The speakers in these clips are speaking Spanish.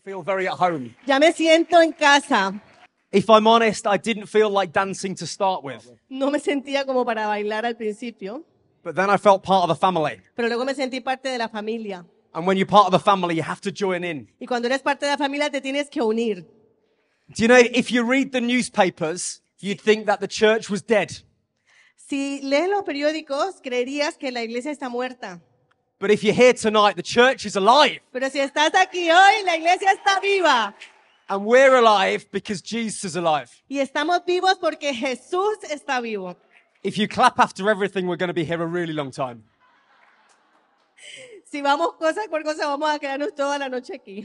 feel very at home. Ya me siento en casa. If I'm honest, I didn't feel like dancing to start with, No me sentía como para bailar al principio, but then I felt part of the family. pero luego me sentí parte de la familia. And when you're part of the family, you have to join in. Y cuando eres parte de la familia te tienes que unir. Do you know, if you read the newspapers, you'd think that the church was dead. Si lees los periódicos, creerías que la iglesia está muerta. But if you're here tonight, the church is alive. Pero si estás aquí hoy, la iglesia está viva. And we're alive because Jesus is alive. Y estamos vivos porque Jesús está vivo. If you clap after everything, we're going to be here a really long time. Si vamos cosa por cosa, vamos a quedarnos toda la noche aquí.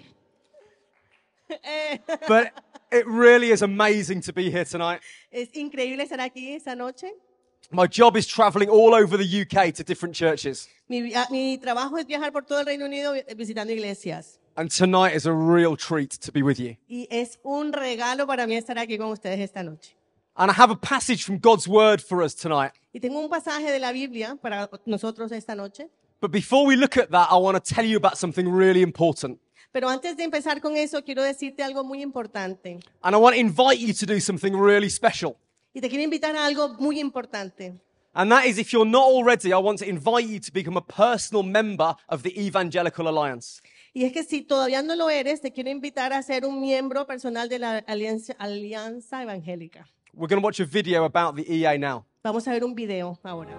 But it really is amazing to be here tonight. Es increíble estar aquí esta noche. My job is traveling all over the UK to different churches. Mi trabajo es viajar por todo el Reino Unido visitando iglesias. And tonight is a real treat to be with you. Y es un regalo para mí estar aquí con ustedes esta noche. And I have a passage from God's word for us tonight. Y tengo un pasaje de la Biblia para nosotros esta noche. But before we look at that, I want to tell you about something really important. Pero antes de empezar con eso, quiero decirte algo muy importante. And I want to invite you to do something really special. Y te quiero invitar a algo muy importante. And that is, if you're not already, I want to invite you to become a personal member of the Evangelical Alliance. Y es que si todavía no lo eres, te quiero invitar a ser un miembro personal de la Alianza Evangélica. We're going to watch a video about the EA now. Vamos a ver un video ahora.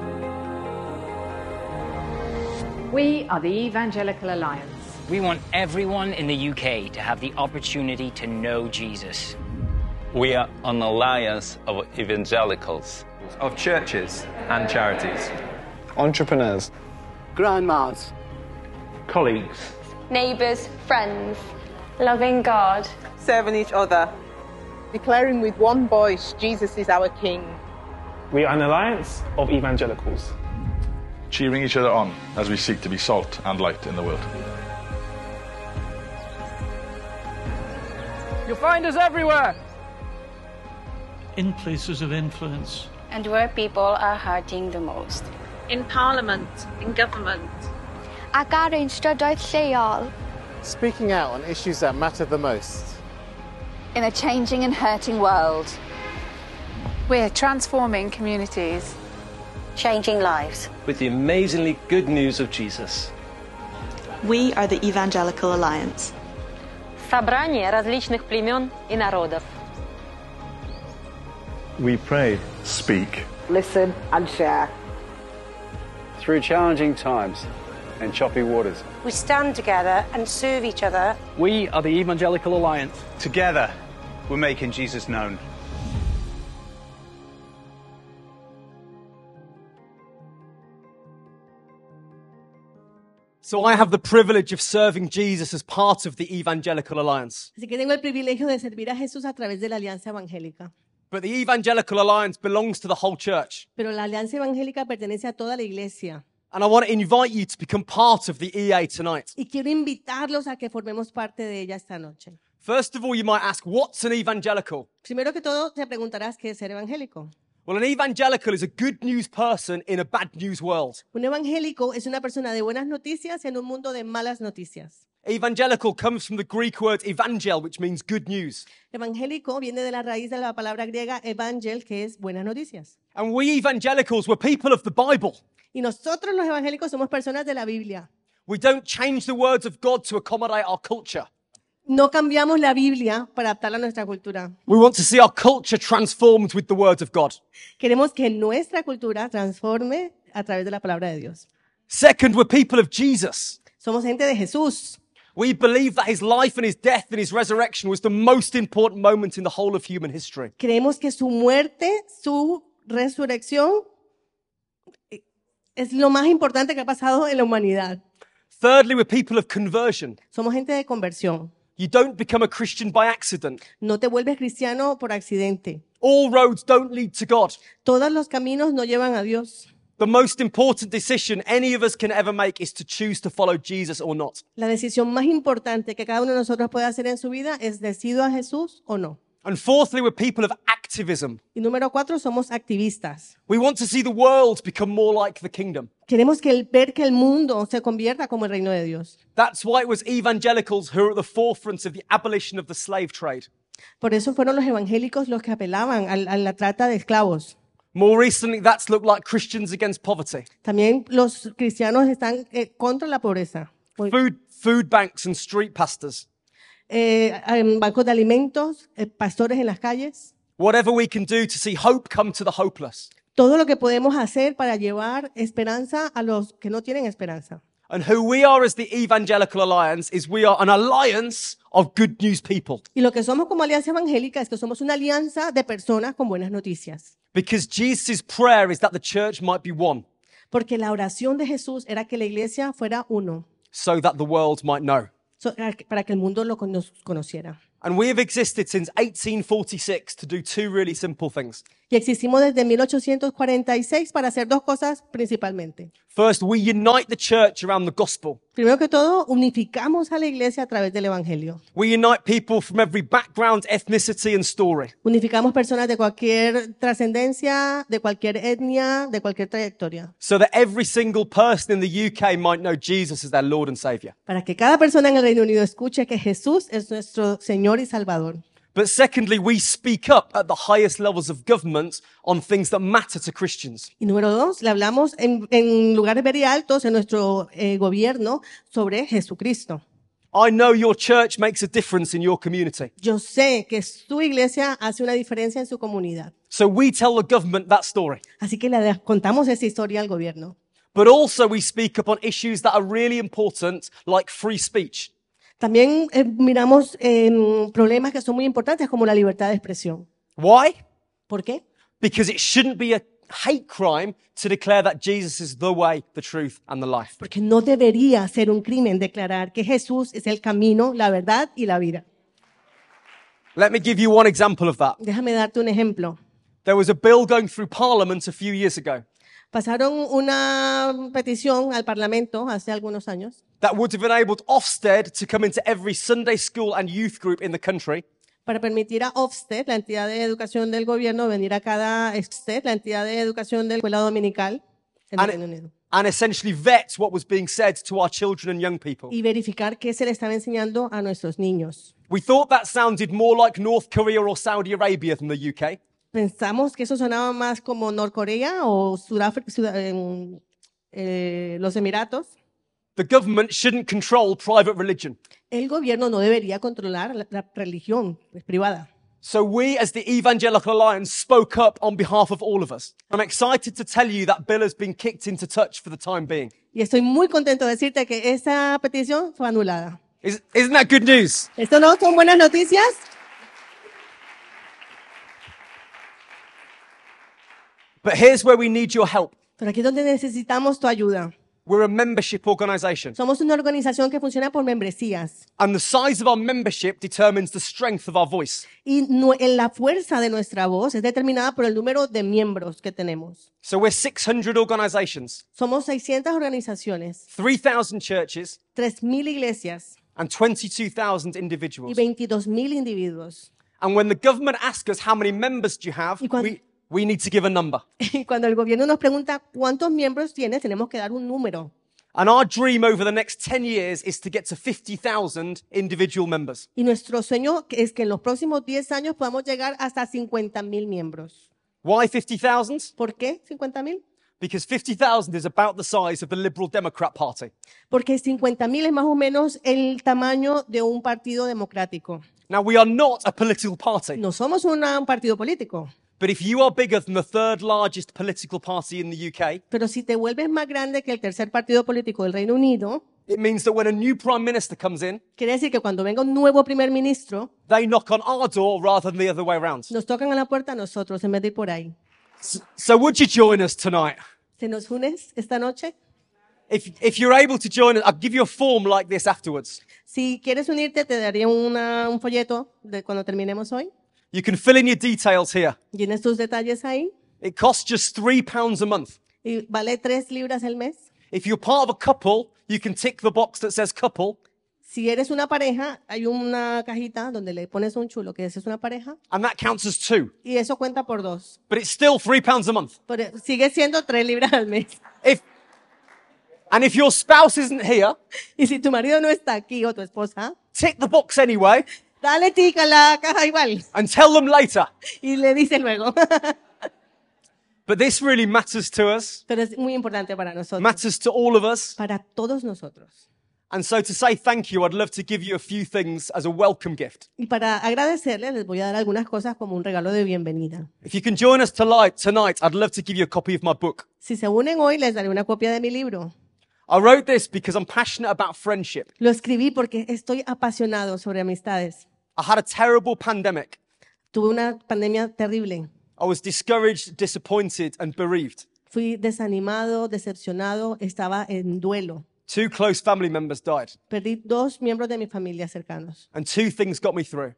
We are the Evangelical Alliance. We want everyone in the UK to have the opportunity to know Jesus. We are an alliance of evangelicals, of churches and charities, entrepreneurs, grandmas, colleagues, neighbours, friends, loving God, serving each other, declaring with one voice, Jesus is our King. We are an alliance of evangelicals, cheering each other on as we seek to be salt and light in the world. You'll find us everywhere. In places of influence. And where people are hurting the most. In Parliament, in government. Ag ar ein strydoedd lleol. Speaking out on issues that matter the most. In a changing and hurting world. We're transforming communities. Changing lives. With the amazingly good news of Jesus. We are the Evangelical Alliance. Собрание различных племен и народов. We pray, speak, listen and share. Through challenging times and choppy waters, we stand together and serve each other. We are the Evangelical Alliance. Together, we're making Jesus known. So I have the privilege of serving Jesus as part of the Evangelical Alliance. Así que tengo el privilegio de servir a Jesús a través de la Alianza Evangélica. But the Evangelical Alliance belongs to the whole church. Pero la Alianza Evangélica pertenece a toda la iglesia. And I want to invite you to become part of the EA tonight. Y quiero invitarlos a que formemos parte de ella esta noche. First of all, you might ask, what's an evangelical? Primero que todo, te preguntarás qué es ser evangélico. Well, an evangelical is a good news person in a bad news world. Un evangélico es una persona de buenas noticias en un mundo de malas noticias. Evangelical comes from the Greek word evangel, which means good news. Evangélico viene de la raíz de la palabra griega evangel, que es buenas noticias. And we evangelicals were people of the Bible. Y nosotros los evangélicos somos personas de la Biblia. We don't change the words of God to accommodate our culture. No cambiamos la Biblia para adaptarla a nuestra cultura. We want to see our culture transformed with the word of God. Queremos que nuestra cultura transforme a través de la palabra de Dios. Second, we're people of Jesus. Somos gente de Jesús. We believe that his life and his death and his resurrection was the most important moment in the whole of human history. Creemos que su muerte, su resurrección es lo más importante que ha pasado en la humanidad. Thirdly, we're people of conversion. Somos gente de conversión. You don't become a Christian by accident. No te vuelves cristiano por accidente. All roads don't lead to God. Todos los caminos no llevan a Dios. The most important decision any of us can ever make is to choose to follow Jesus or not. La decisión más importante que cada uno de nosotros puede hacer en su vida es decido a Jesús o no. And fourthly, we're people of active activism. Y número 4, somos activistas. We want to see the world become more like the kingdom. Queremos ver que el mundo se convierta como el reino de Dios. That's why it was evangelicals who were at the forefront of the abolition of the slave trade. Por eso fueron los evangélicos los que apelaban a la trata de esclavos. More recently, that's looked like Christians against poverty. También los cristianos están contra la pobreza. Food banks and street pastors. Bancos de alimentos, pastores en las calles. Whatever we can do to see hope come to the hopeless. Todo lo que podemos hacer para llevar esperanza a los que no tienen esperanza. And who we are as the Evangelical Alliance is we are an alliance of good news people. Y lo que somos como Alianza Evangélica es que somos una alianza de personas con buenas noticias. Because Jesus' prayer is that the church might be one. Porque la oración de Jesús era que la iglesia fuera uno. So that the world might know. Para que el mundo lo conociera. And we have existed since 1846 to do two really simple things. Y existimos desde 1846 para hacer dos cosas principalmente. First, we unite the church around the gospel. Primero que todo, unificamos a la iglesia a través del evangelio. We unite people from every background, ethnicity and story. Unificamos personas de cualquier trascendencia, de cualquier etnia, de cualquier trayectoria. So that every single person in the UK might know Jesus as their Lord and Savior. Para que cada persona en el Reino Unido escuche que Jesús es nuestro Señor y Salvador. But secondly, we speak up at the highest levels of government on things that matter to Christians. Y número 2, le hablamos en lugares very altos en nuestro gobierno sobre Jesucristo. I know your church makes a difference in your community. Yo sé que su iglesia hace una diferencia en su comunidad. So we tell the government that story. Así que le contamos esa historia al gobierno. But also we speak up on issues that are really important, like free speech. También miramos problemas que son muy importantes como la libertad de expresión. Why? ¿Por qué? Because it shouldn't be a hate crime to declare that Jesus is the way, the truth and the life. Porque no debería ser un crimen declarar que Jesús es el camino, la verdad y la vida. Let me give you one example of that. Déjame darte un ejemplo. There was a bill going through Parliament a few years ago. Pasaron una petición al Parlamento hace algunos años. That would have enabled Ofsted to come into every Sunday school and youth group in the country. Para permitir a Ofsted, la entidad de educación del gobierno, venir a cada Ofsted, la entidad de educación de la escuela dominical en el Reino Unido. And essentially vet what was being said to our children and young people. Y verificar qué se le estaba enseñando a nuestros niños. We thought that sounded more like North Korea or Saudi Arabia than the UK. Pensamos que eso sonaba más como Norcorea o los Emiratos. The government shouldn't control private religion. El gobierno no debería controlar la religión privada. So we, as the Evangelical Alliance, spoke up on behalf of all of us. I'm excited to tell you that bill has been kicked into touch for the time being. Y estoy muy contento de decirte que esa petición fue anulada. Isn't that good news? ¿Esto no son buenas noticias? But here's where we need your help. Pero aquí es donde necesitamos tu ayuda. We're a membership organization. Somos una organización que funciona por membresías. And the size of our membership determines the strength of our voice. Y la fuerza de nuestra voz es determinada por el número de miembros que tenemos. So we're 600 organizations. Somos 600 organizaciones. 3,000 churches. 3,000 iglesias. And 22,000 individuals. Y 22,000 individuos. And when the government asks us how many members do you have, we need to give a number. Y cuando el gobierno nos pregunta cuántos miembros tienes, tenemos que dar un número. And our dream over the next 10 years is to get to 50,000 individual members. Y nuestro sueño es que en los próximos 10 años podamos llegar hasta 50,000 miembros. Why 50,000? ¿Por qué 50,000? Because 50,000 is about the size of the Liberal Democrat Party. Porque 50,000 es más o menos el tamaño de un partido democrático. Now, we are not a political party. No somos un partido político. But if you are bigger than the third largest political party in the UK, pero si te vuelves más grande que el tercer partido político del Reino Unido, it means that when a new prime minister comes in, quiere decir que cuando venga un nuevo primer ministro, they knock on our door rather than the other way around. Nos tocan a la puerta a nosotros en vez de ir por ahí. So would you join us tonight? ¿Te nos unes esta noche? If you're able to join us, I'll give you a form like this afterwards. Si quieres unirte, te daría un folleto de cuando terminemos hoy. You can fill in your details here. Tienes tus detalles ahí. It costs just £3 a month. Y vale 3 libras el mes. If you're part of a couple, you can tick the box that says couple. Si eres una pareja, hay una cajita donde le pones un chulo que ese es una pareja and that counts as 2. y eso cuenta por 2. But it's still £3 a month. Pero sigue siendo 3 libras al mes. And if your spouse isn't here, Y si tu marido no está aquí o tu esposa, tick the box anyway dale tic a la caja igual and tell them later. y le dice luego. But this really matters to us, Pero es muy importante para nosotros, matters to all of us. para todos nosotros. And so to say thank you, I'd love to give you a few things as a welcome gift. Y para agradecerles, les voy a dar algunas cosas como un regalo de bienvenida. If you can join us tonight, I'd love to give you a copy of my book. Si se unen hoy, les daré una copia de mi libro. I wrote this because I'm passionate about friendship. Lo escribí porque estoy apasionado sobre amistades. I had a terrible pandemic. Tuve una pandemia terrible. I was discouraged, disappointed, and bereaved. Fui desanimado, decepcionado, estaba en duelo. 2 close family members died. Perdí 2 miembros de mi familia cercanos. And 2 things got me through.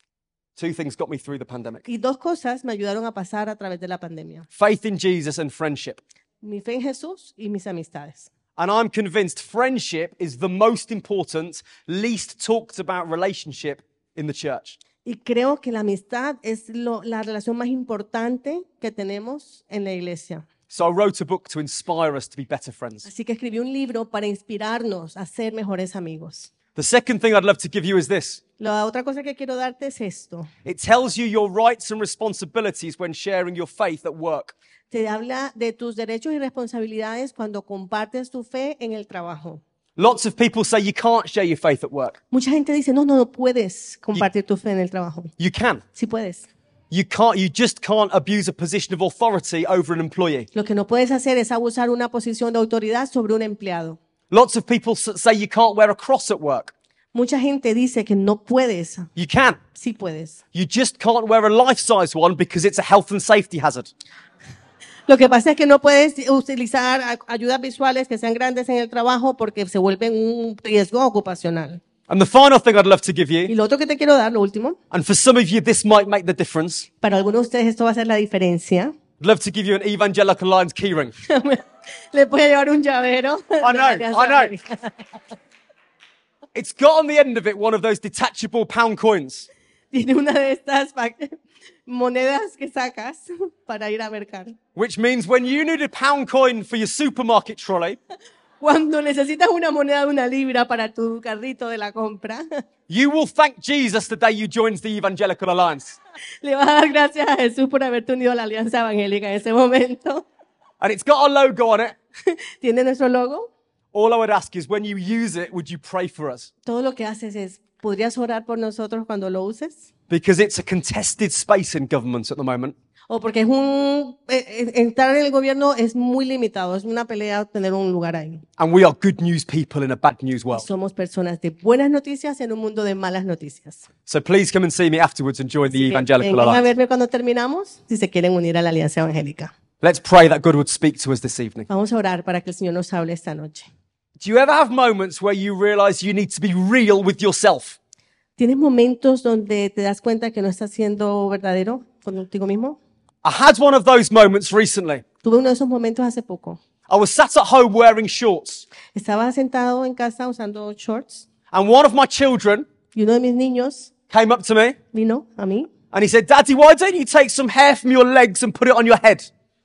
2 things got me through the pandemic. Y 2 cosas me ayudaron a pasar a través de la pandemia. Faith in Jesus and friendship. Mi fe en Jesús y mis amistades. And I'm convinced friendship is the most important, least talked about relationship in the church. Y creo que la amistad es la relación más importante que tenemos en la iglesia. So I wrote a book to inspire us to be better friends. Así que escribí un libro para inspirarnos a ser mejores amigos. The second thing I'd love to give you is this. La otra cosa que quiero darte es esto. It tells you your rights and responsibilities when sharing your faith at work. Te habla de tus derechos y responsabilidades cuando compartes tu fe en el trabajo. Lots of people say you can't share your faith at work. Mucha gente dice, no puedes compartir tu fe en el trabajo. You can. Sí puedes. You just can't abuse a position of authority over an employee. Lo que no puedes hacer es abusar una posición de autoridad sobre un empleado. Lots of people say you can't wear a cross at work. Mucha gente dice que no puedes. You can. Sí puedes. You just can't wear a life-size one because it's a health and safety hazard. Lo que pasa es que no puedes utilizar ayudas visuales que sean grandes en el trabajo porque se vuelven un riesgo ocupacional. And the final thing I'd love to give Y you, lo otro que te quiero dar, lo último, and for some of you this might make the difference, para algunos de ustedes esto va a ser la diferencia. I'd love to give you an Evangelical Alliance keyring. Le puede llevar un llavero. I know. It's got on the end of it one of those detachable pound coins. Tiene una de estas monedas que sacas para ir a mercar. Which means when you need a pound coin for your supermarket trolley, Cuando necesitas una moneda de 1 libra para tu carrito de la compra, you will thank Jesus the day you joined the Evangelical Alliance. le vas a dar gracias a Jesús por haberte unido a la Alianza Evangélica en ese momento. And it's got a logo on it. ¿Tiene nuestro logo? All I would ask is when you use it, would you pray for us? Todo lo que haces es, ¿podrías orar por nosotros cuando lo uses? Because it's a contested space in government at the moment. O porque entrar en el gobierno es muy limitado, es una pelea tener un lugar ahí. And we are good news people in a bad news world. Somos personas de buenas noticias en un mundo de malas noticias. So please come and see me afterwards and join the Evangelical Vengan a Alliance. verme cuando terminamos, si se quieren unir a la Alianza Evangélica. Let's pray that God would speak to us this evening. Vamos a orar para que el Señor nos hable esta noche. Do you ever have moments where you realize you need to be real with yourself? ¿Tienes momentos donde te das cuenta que no estás siendo verdadero contigo mismo? I had one of those moments recently. Tuve uno de esos momentos hace poco. I was sat at home wearing shorts, Estaba sentado en casa usando shorts and one of my children y uno de mis niños came up to me vino a mí and he said, "Daddy, why don't you take some hair from your legs and put it on your head?"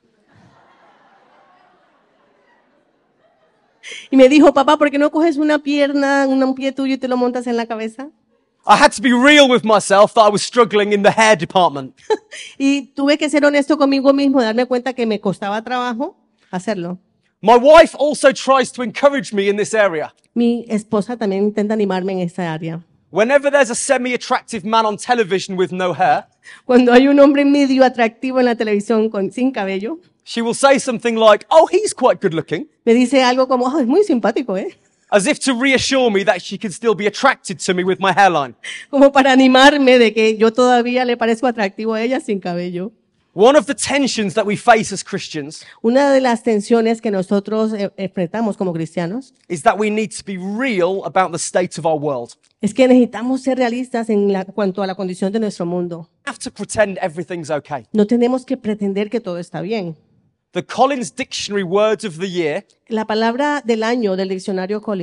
y me dijo, papá, ¿por qué no coges una pierna, un pie tuyo y te lo montas en la cabeza? I had to be real with myself that I was struggling in the hair department. Y tuve que ser honesto conmigo mismo, darme cuenta que me costaba trabajo hacerlo. My wife also tries to encourage me in this area. Mi esposa también intenta animarme en esta área. Whenever there's a semi-attractive man on television with no hair, Cuando hay un hombre medio atractivo en la televisión sin cabello, she will say something like, "Oh, he's quite good looking," me dice algo como, oh, es muy simpático, ¿eh? as if to reassure me that she can still be attracted to me with my hairline. Como para animarme de que yo todavía le parezco atractivo a ella sin cabello. One of the tensions that we face as Christians Una de las tensiones que nosotros enfrentamos como cristianos is that we need to be real about the state of our world. es que necesitamos ser realistas en cuanto a la condición de nuestro mundo. We have to pretend everything's okay. No tenemos que pretender que todo está bien. The Collins Dictionary Words of the Year La palabra del año del diccionario Collins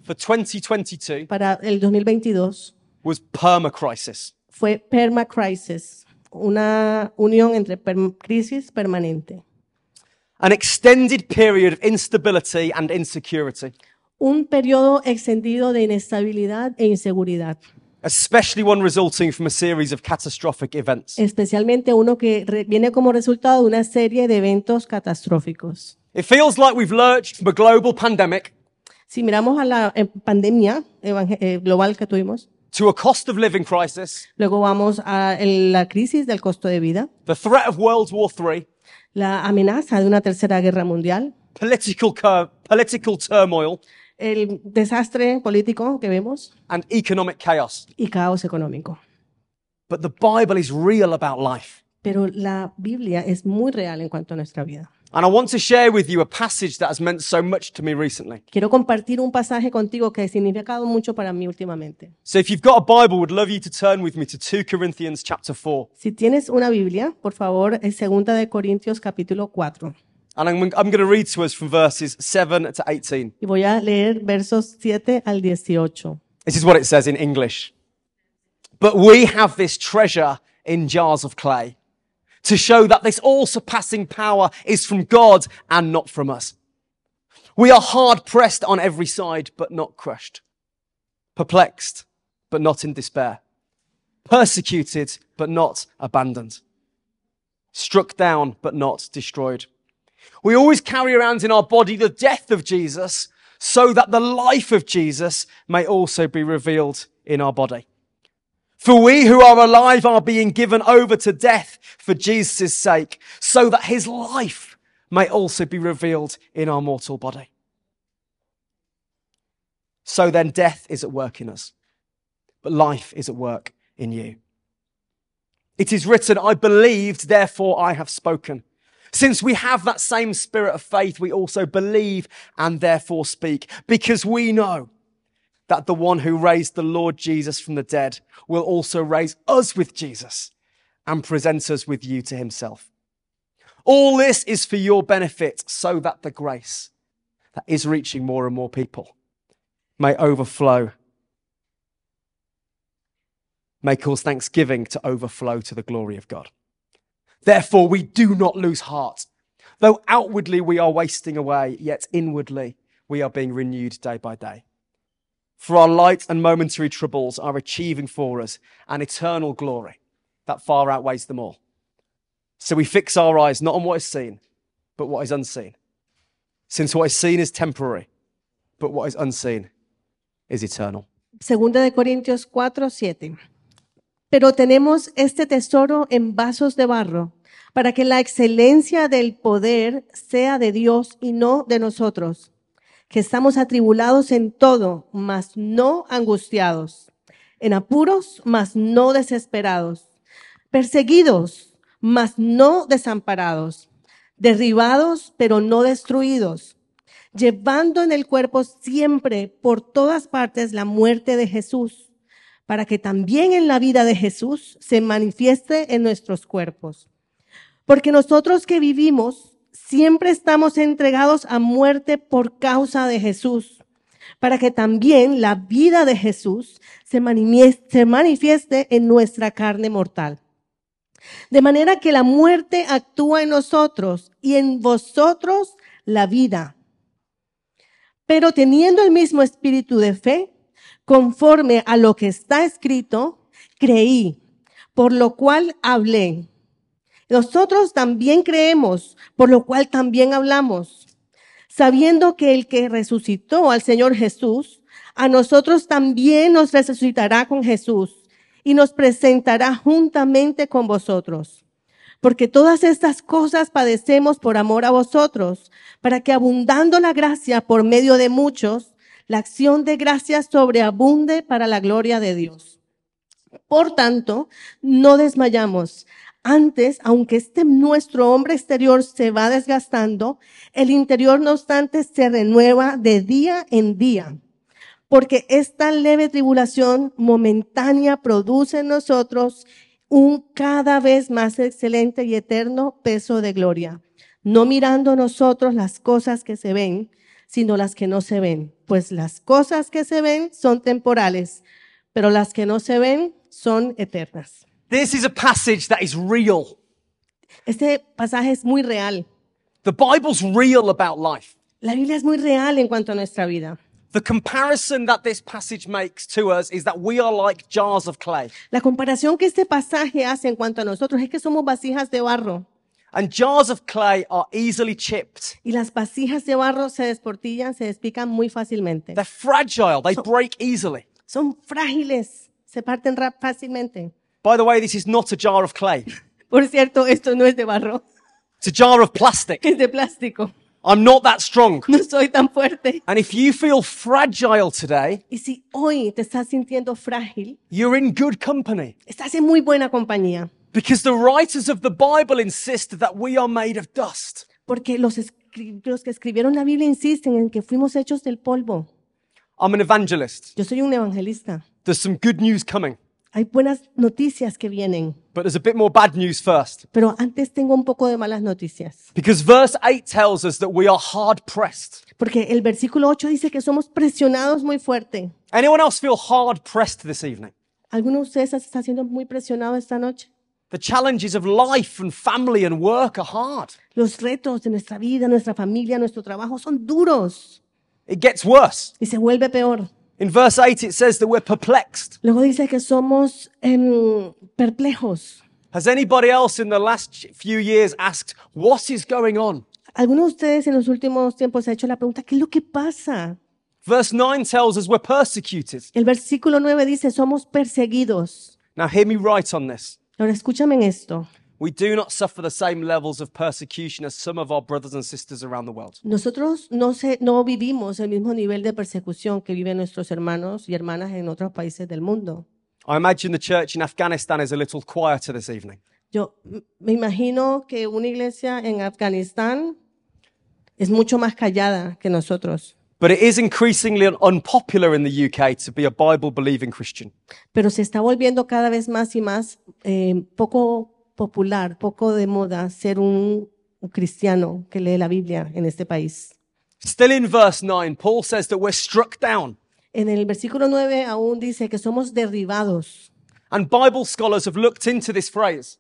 for 2022 para el 2022 was permacrisis. fue permacrisis, una unión entre crisis permanente. An extended period of instability and insecurity, Un periodo extendido de inestabilidad e inseguridad, especially one resulting from a series of catastrophic events. especialmente uno que viene como resultado de una serie de eventos catastróficos. It feels like we've lurched from a global pandemic Si miramos a la pandemia global que tuvimos, to a cost of living crisis, luego vamos a la crisis del costo de vida, the threat of World War III, la amenaza de una tercera guerra mundial, political turmoil, el desastre político que vemos and economic chaos. y caos económico. But the Bible is real about life. Pero la Biblia es muy real en cuanto a nuestra vida. And I want to share with you a passage that has meant so much to me recently. Quiero compartir un pasaje contigo que ha significado mucho para mí últimamente. So if you've got a Bible, would love you to turn with me to 2 Corinthians chapter 4. Si tienes una Biblia, por favor, es 2 de Corintios capítulo 4. And I'm going to read to us from verses 7 to 18. Y voy a leer versos 7 al 18. This is what it says in English. But we have this treasure in jars of clay, to show that this all-surpassing power is from God and not from us. We are hard-pressed on every side, but not crushed. Perplexed, but not in despair. Persecuted, but not abandoned. Struck down, but not destroyed. We always carry around in our body the death of Jesus, so that the life of Jesus may also be revealed in our body. For we who are alive are being given over to death for Jesus' sake, so that his life may also be revealed in our mortal body. So then death is at work in us, but life is at work in you. It is written, I believed, therefore I have spoken. Since we have that same spirit of faith, we also believe and therefore speak, because we know that the one who raised the Lord Jesus from the dead will also raise us with Jesus and present us with you to himself. All this is for your benefit, so that the grace that is reaching more and more people may overflow, may cause thanksgiving to overflow to the glory of God. Therefore, we do not lose heart. Though outwardly we are wasting away, yet inwardly we are being renewed day by day. For our light and momentary troubles are achieving for us an eternal glory that far outweighs them all. So we fix our eyes not on what is seen, but what is unseen. Since what is seen is temporary, but what is unseen is eternal. 2 de Corintios 4, 7. Pero tenemos este tesoro en vasos de barro, para que la excelencia del poder sea de Dios y no de nosotros, que estamos atribulados en todo, mas no angustiados, en apuros, mas no desesperados, perseguidos, mas no desamparados, derribados, pero no destruidos, llevando en el cuerpo siempre por todas partes la muerte de Jesús, para que también en la vida de Jesús se manifieste en nuestros cuerpos. Porque nosotros que vivimos siempre estamos entregados a muerte por causa de Jesús, para que también la vida de Jesús se manifieste en nuestra carne mortal. De manera que la muerte actúa en nosotros y en vosotros la vida. Pero teniendo el mismo espíritu de fe, conforme a lo que está escrito, creí, por lo cual hablé. Nosotros también creemos, por lo cual también hablamos, sabiendo que el que resucitó al Señor Jesús, a nosotros también nos resucitará con Jesús y nos presentará juntamente con vosotros. Porque todas estas cosas padecemos por amor a vosotros, para que abundando la gracia por medio de muchos, la acción de gracias sobreabunde para la gloria de Dios. Por tanto, no desmayamos. Antes, aunque nuestro hombre exterior se va desgastando, el interior, no obstante, se renueva de día en día. Porque esta leve tribulación momentánea produce en nosotros un cada vez más excelente y eterno peso de gloria. No mirando nosotros las cosas que se ven, sino las que no se ven. Pues las cosas que se ven son temporales, pero las que no se ven son eternas. This is a passage that is real. Este pasaje es muy real. The Bible's real about life. La Biblia es muy real en cuanto a nuestra vida. The comparison that this passage makes to us is that we are like jars of clay. La comparación que este pasaje hace en cuanto a nosotros es que somos vasijas de barro. And jars of clay are easily chipped. Y las vasijas de barro se desportillan, se despican muy fácilmente. They're fragile. They break easily. Son frágiles, se parten fácilmente. By the way, this is not a jar of clay. Por cierto, esto no es de barro. It's a jar of plastic. Es de plástico. I'm not that strong. No soy tan fuerte. And if you feel fragile today, y si hoy te estás sintiendo frágil, you're in good company. Estás en muy buena compañía. Because the writers of the Bible insist that we are made of dust. Porque los que escribieron la Biblia insisten en que fuimos hechos del polvo. I'm an evangelist. Yo soy un evangelista. There's some good news coming. Hay buenas noticias que vienen. But there's a bit more bad news first. Pero antes tengo un poco de malas noticias. Because verse 8 tells us that we are hard pressed. Porque el versículo 8 dice que somos presionados muy fuerte. Anyone else feel hard pressed this evening? ¿Alguno de ustedes está siendo muy presionado esta noche? The challenges of life and family and work are hard. Los retos de nuestra vida, nuestra familia, nuestro trabajo son duros. It gets worse. Y se vuelve peor. In verse 8 it says that we're perplexed. Luego dice que somos perplejos. Has anybody else in the last few years asked, what is going on? ¿Alguno de ustedes en los últimos tiempos se ha hecho la pregunta, ¿qué es lo que pasa? Verse 9 tells us we're persecuted. El versículo 9 dice, somos perseguidos. Now hear me right on this. Ahora escúchame en esto. We do not suffer the same levels of persecution as some of our brothers and sisters around the world. Nosotros no vivimos el mismo nivel de persecución que viven nuestros hermanos y hermanas en otros países del mundo. I imagine the church in Afghanistan is a little quieter this evening. Yo me imagino que una iglesia en Afganistán es mucho más callada que nosotros. But it is increasingly unpopular in the UK to be a Bible-believing Christian. Pero se está volviendo cada vez más y más poco popular, poco de moda ser un cristiano que lee la Biblia en este país. Still in verse 9, Paul says that we're struck down. En el versículo 9 aún dice que somos derribados. And Bible scholars have looked into this phrase.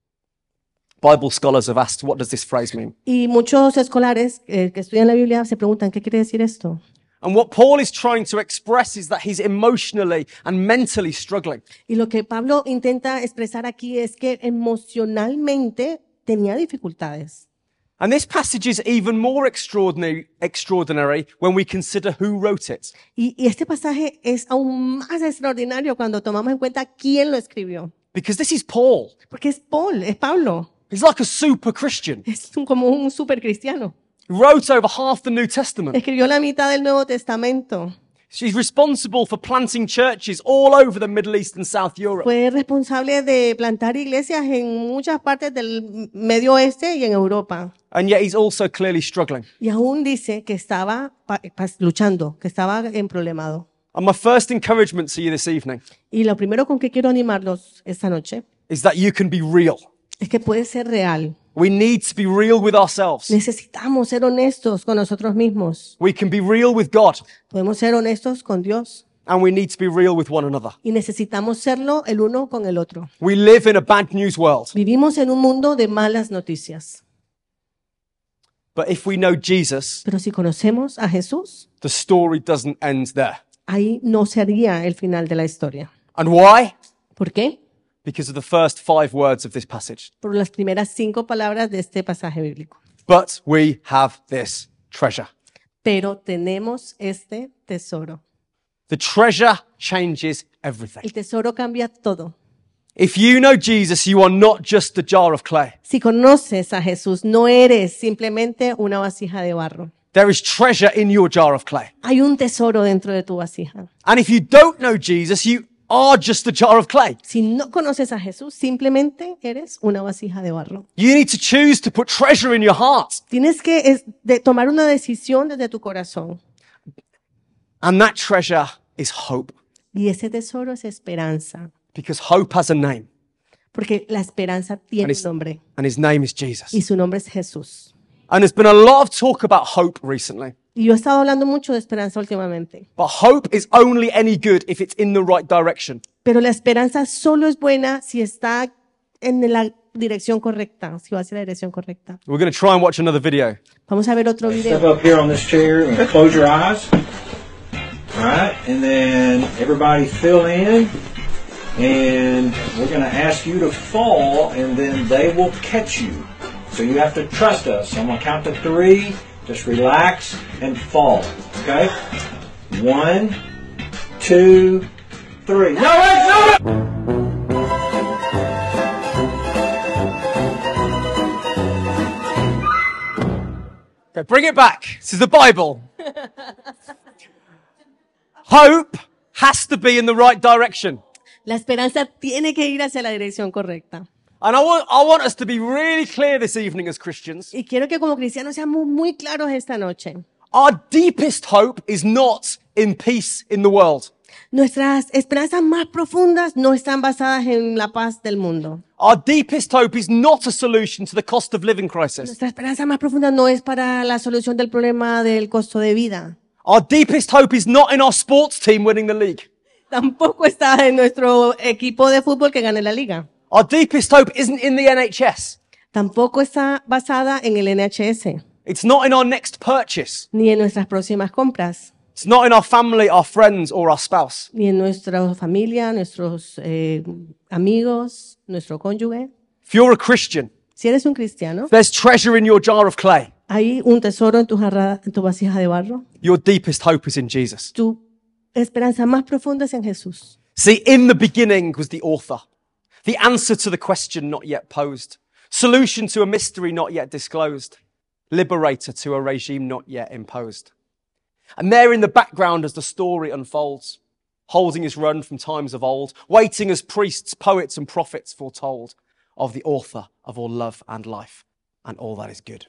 Bible scholars have asked, what does this phrase mean? Y muchos escolares que estudian la Biblia se preguntan, ¿qué quiere decir esto? And what Paul is trying to express is that he's emotionally and mentally struggling. Y lo que Pablo intenta expresar aquí es que emocionalmente tenía dificultades. And this passage is even more extraordinary when we consider who wrote it. Y este pasaje es aún más extraordinario cuando tomamos en cuenta quién lo escribió. Because this is Paul. Porque es Pablo. He's like a super Christian. Es como un super cristiano. He wrote over half the New Testament. Escribió la mitad del Nuevo Testamento. She's responsible for planting churches all over the Middle East and South Europe. Fue responsable de plantar iglesias en muchas partes del Medio Oeste y en Europa. And yet he's also clearly struggling. Y aún dice que estaba luchando, que estaba problemado. And my first encouragement to you this evening Y lo primero con que quiero animarlos esta noche is that you can be real. es que puede ser real. We need to be real with ourselves. Necesitamos ser honestos con nosotros mismos. We can be real with God. Podemos ser honestos con Dios. And we need to be real with one another. Y necesitamos serlo el uno con el otro. We live in a bad news world. Vivimos en un mundo de malas noticias. But if we know Jesus, Pero si conocemos a Jesús, the story doesn't end there. ahí no sería el final de la historia. And why? ¿Por qué? Because of the first 5 words of this passage. Por las primeras 5 palabras de este pasaje bíblico. But we have this treasure. Pero tenemos este tesoro. The treasure changes everything. El tesoro cambia todo. If you know Jesus, you are not just a jar of clay. Si conoces a Jesús, no eres simplemente una vasija de barro. There is treasure in your jar of clay. Hay un tesoro dentro de tu vasija. And if you don't know Jesus, you are just a jar of clay. Si no conoces a Jesús, simplemente eres una vasija de barro. You need to choose to put treasure in your heart. Tienes que tomar una decisión desde tu corazón. And that treasure is hope. Y ese tesoro es esperanza. Because hope has a name. Porque la esperanza tiene un nombre. And his name is Jesus. Y su nombre es Jesús. And there's been a lot of talk about hope recently. Y yo he estado hablando mucho de esperanza últimamente. But hope is only any good if it's in the right direction. Pero la esperanza solo es buena si está en la dirección correcta, si va hacia la dirección correcta. We're going to try and watch another video. Vamos a ver otro video. Step up here on this chair and close your eyes. All right, and then everybody fill in. And we're going to ask you to fall, and then they will catch you. So you have to trust us. I'm going to count to 3. Just relax and fall. Okay? 1, 2, 3. No, wait, no! Okay, bring it back. This is the Bible. Hope has to be in the right direction. La esperanza tiene que ir hacia la dirección correcta. And I want us to be really clear this evening as Christians. Y quiero que como cristianos seamos muy claros esta noche. Our deepest hope is not in peace in the world. Nuestras esperanzas más profundas no están basadas en la paz del mundo. Our deepest hope is not a solution to the cost of living crisis. Nuestra esperanza más profunda no es para la solución del problema del costo de vida. Our deepest hope is not in our sports team winning the league. Tampoco está en nuestro equipo de fútbol que gane la liga. Our deepest hope isn't in the NHS. Tampoco está basada en el NHS. It's not in our next purchase. Ni en nuestras próximas compras. It's not in our family, our friends, or our spouse. Ni en nuestra familia, nuestros amigos, nuestro cónyuge. If you're a Christian, si eres un cristiano, there's treasure in your jar of clay. Hay un tesoro en tu vasija de barro. Your deepest hope is in Jesus. Tu esperanza más profunda es en Jesús. See, in the beginning was the author. The answer to the question not yet posed. Solution to a mystery not yet disclosed. Liberator to a regime not yet imposed. And there in the background as the story unfolds, holding his run from times of old, waiting as priests, poets and prophets foretold of the author of all love and life and all that is good.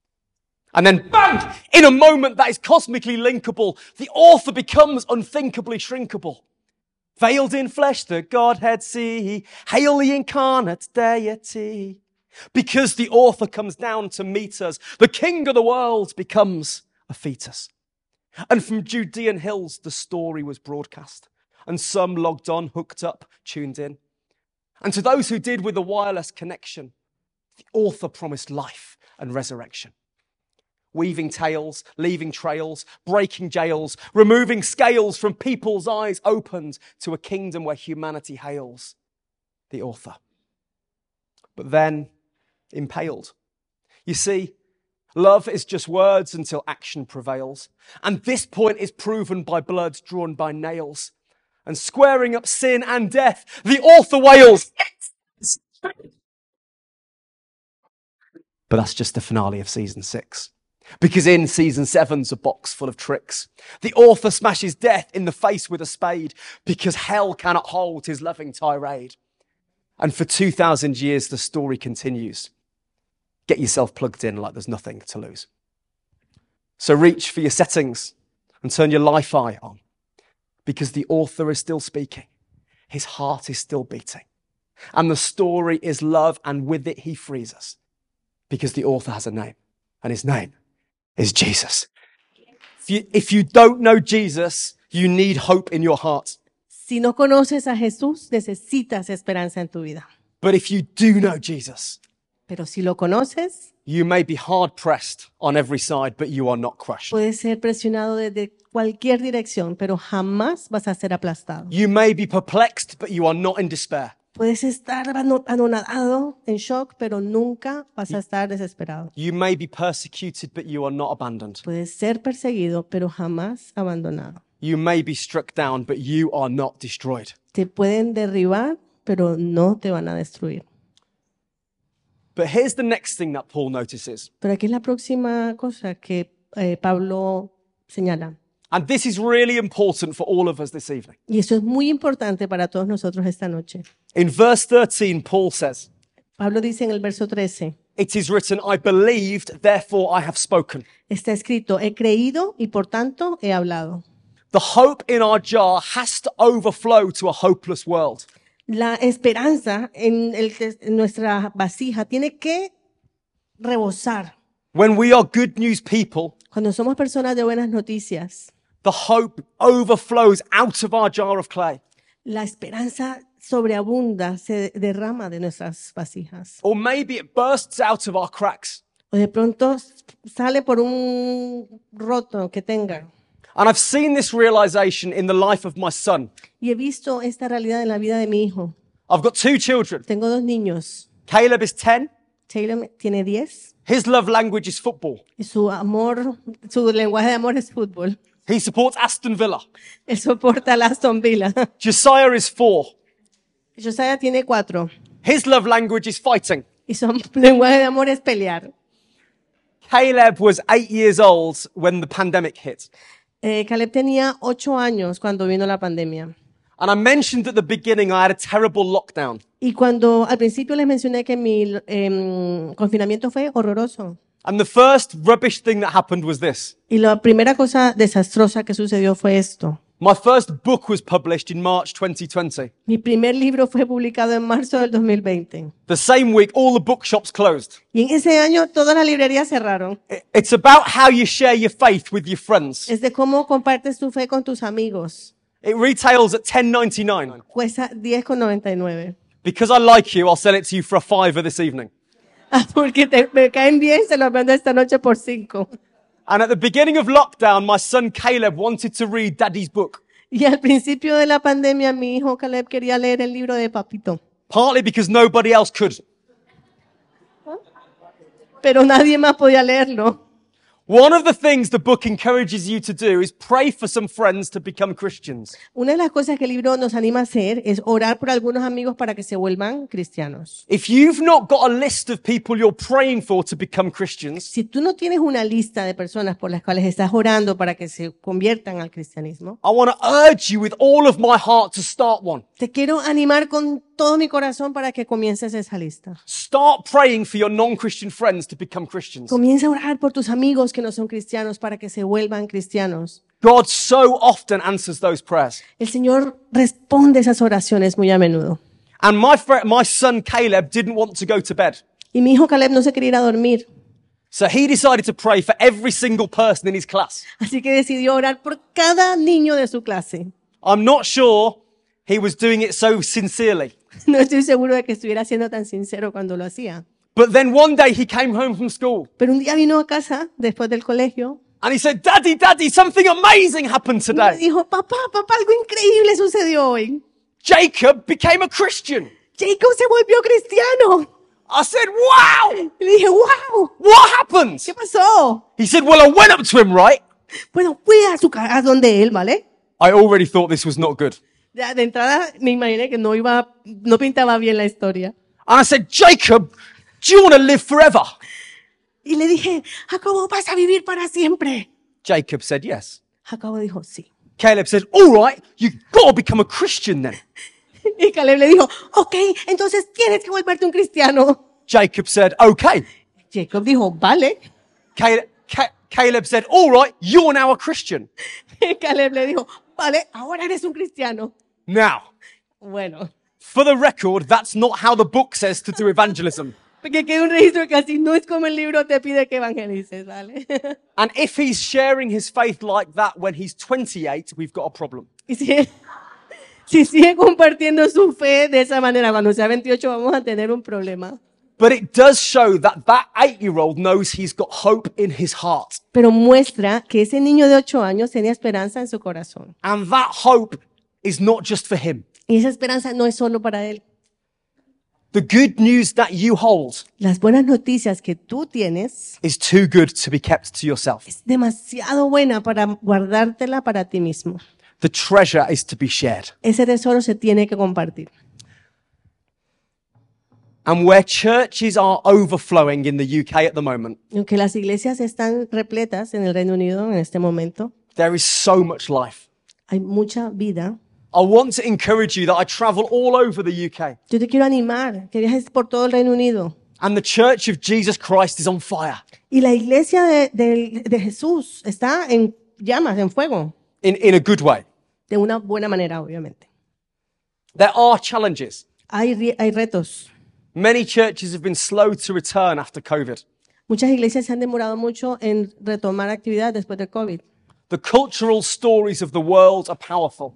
And then bang! In a moment that is cosmically linkable, the author becomes unthinkably shrinkable. Veiled in flesh, the Godhead see. Hail the incarnate deity. Because the author comes down to meet us, the king of the world becomes a fetus. And from Judean hills, the story was broadcast. And some logged on, hooked up, tuned in. And to those who did with a wireless connection, the author promised life and resurrection. Weaving tales, leaving trails, breaking jails, removing scales from people's eyes opened to a kingdom where humanity hails the author. But then impaled. You see, love is just words until action prevails. And this point is proven by blood drawn by nails. And squaring up sin and death, the author wails. But that's just the finale of season 6. Because in season 7's a box full of tricks. The author smashes death in the face with a spade because hell cannot hold his loving tirade. And for 2,000 years, the story continues. Get yourself plugged in like there's nothing to lose. So reach for your settings and turn your Li-Fi on because the author is still speaking. His heart is still beating. And the story is love, and with it he frees us because the author has a name, and his name is Jesus. If you don't know Jesus, you need hope in your heart. Si no conoces a Jesús, necesitas esperanza en tu vida. But if you do know Jesus, pero si lo conoces, you may be hard pressed on every side, but you are not crushed. Puedes ser presionado desde cualquier dirección, pero jamás vas a ser aplastado. You may be perplexed, but you are not in despair. Puedes estar anonadado, en shock, pero nunca vas a estar desesperado. You may be persecuted, but you are not abandoned. Puedes ser perseguido, pero jamás abandonado. You may be struck down, but you are not destroyed. Te pueden derribar, pero no te van a destruir. But here's the next thing that Paul notices. Pero aquí es la próxima cosa que Pablo señala. And this is really important for all of us this evening. Y eso es muy importante para todos nosotros esta noche. In verse 13, Paul says, Pablo dice en el verso 13, it is written, I believed, therefore I have spoken. Está escrito, he creído y por tanto he hablado. The hope in our jar has to overflow to a hopeless world. La esperanza en nuestra vasija tiene que rebosar. When we are good news people, Cuando somos personas de buenas noticias, the hope overflows out of our jar of clay. la esperanza sobreabunda, se derrama de nuestras vasijas. Or maybe it bursts out of our cracks. O de pronto sale por un roto que tenga. And I've seen this realization in the life of my son. Y he visto esta realidad en la vida de mi hijo. I've got 2 children. Tengo 2 niños. Caleb is 10. Taylor tiene 10. His love language is football. Y su lenguaje de amor es fútbol. He supports Aston Villa. Él soporta al Aston Villa. Josiah is 4. Josiah tiene 4. His love language is fighting. Y su lenguaje de amor es pelear. Caleb was 8 years old when the pandemic hit. Caleb tenía 8 años cuando vino la pandemia. And I mentioned at the beginning I had a terrible lockdown. Y cuando al principio les mencioné que mi confinamiento fue horroroso. And the first rubbish thing that happened was this. Y la primera cosa desastrosa que sucedió fue esto. My first book was published in March 2020. Mi primer libro fue publicado en marzo del 2020. The same week, all the bookshops closed. Y en ese año todas las librerías cerraron. It's about how you share your faith with your friends. Es de cómo compartes tu fe con tus amigos. It retails at $10.99. Cuesta $10.99. Because I like you, I'll sell it to you for a $5 this evening. Porque me caen bien, se los vendo esta noche por 5. And at the beginning of lockdown, my son Caleb wanted to read Daddy's book. Y al principio de la pandemia, mi hijo Caleb quería leer el libro de Papito. Partly because nobody else could. Pero nadie más podía leerlo. One of the things the book encourages you to do is pray for some friends to become Christians. Una de las cosas que el libro nos anima a hacer es orar por algunos amigos para que se vuelvan cristianos. If you've not got a list of people you're praying for to become Christians, Si tú no tienes una lista de personas por las cuales estás orando para que se conviertan al cristianismo, I want to urge you with all of my heart to start one. te quiero animar con todo mi corazón para que comiences esa lista. Start praying for your non-Christian friends to become Christians. Comienza a orar por tus amigos que no son cristianos para que se vuelvan cristianos. God so often answers those prayers. El Señor responde esas oraciones muy a menudo. And my son Caleb didn't want to go to bed. Y mi hijo Caleb no se quería ir a dormir. So he decided to pray for every single person in his class. Así que decidió orar por cada niño de su clase. I'm not sure he was doing it so sincerely. No estoy seguro de que estuviera siendo tan sincero cuando lo hacía. But then one day he came home from school. Pero un día vino a casa después del colegio. And he said, Daddy, something amazing happened Y me today. dijo, papá, algo increíble sucedió hoy. Jacob became a Christian. Jacob se volvió cristiano. I said, wow. Y le dije, wow. What happened? ¿Qué pasó? He said, well, I went up to him, right? Bueno, fui a su casa donde él, ¿vale? I already thought this was not good. Ya, de entrada me imaginé que no pintaba bien la historia. And I said, Jacob, do you want to live forever? Y le dije, Jacobo, ¿vas a vivir para siempre? Jacob said, yes. Jacobo dijo, sí. Caleb said, all right, you've got to become a Christian then. Y Caleb le dijo, ok, entonces tienes que volverte un cristiano. Jacob said, okay. Jacob dijo, vale. Caleb said, all right, you're now a Christian. Y Caleb le dijo, vale, ahora eres un cristiano. Now, Bueno, for the record, that's not how the book says to do evangelism. porque queda un registro que así no es como el libro te pide que evangelices, ¿vale? And if he's sharing his faith like that when he's 28, we've got a problem. Y si sigue compartiendo su fe de esa manera cuando sea 28 vamos a tener un problema. But it does show that 8-year-old knows he's got hope in his heart. Pero muestra que ese niño de 8 años tenía esperanza en su corazón. And that hope is not just for him. Y esa esperanza no es solo para él. The good news that you hold Las buenas noticias que tú tienes is too good to be kept to yourself. es demasiado buena para guardártela para ti mismo. The treasure is to be shared. Ese tesoro se tiene que compartir. And where churches are overflowing in the UK at the moment, Aunque las iglesias están repletas en el Reino Unido en este momento, there is so much life. hay mucha vida. I want to encourage you that I travel all over the UK. Yo te quiero animar que viajes por todo el Reino Unido. And the Church of Jesus Christ is on fire. Y la iglesia de Jesús está en llamas, en fuego. In a good way. De una buena manera, obviamente. There are challenges. Hay retos. Many churches have been slow to return after COVID. Muchas iglesias se han demorado mucho en retomar actividad después del COVID. The cultural stories of the world are powerful.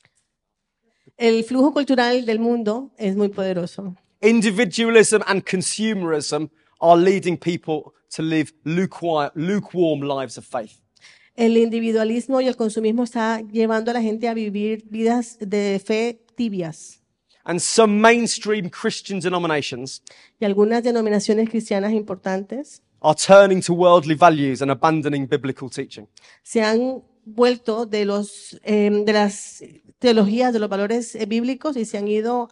El flujo cultural del mundo es muy poderoso. Individualism and consumerism are leading people to live lukewarm lives of faith. El individualismo y el consumismo está llevando a la gente a vivir vidas de fe tibias. And some mainstream Christian denominations Y algunas denominaciones cristianas importantes are turning to worldly values and abandoning biblical teaching. se han vuelto de las teologías, de los valores bíblicos y se han ido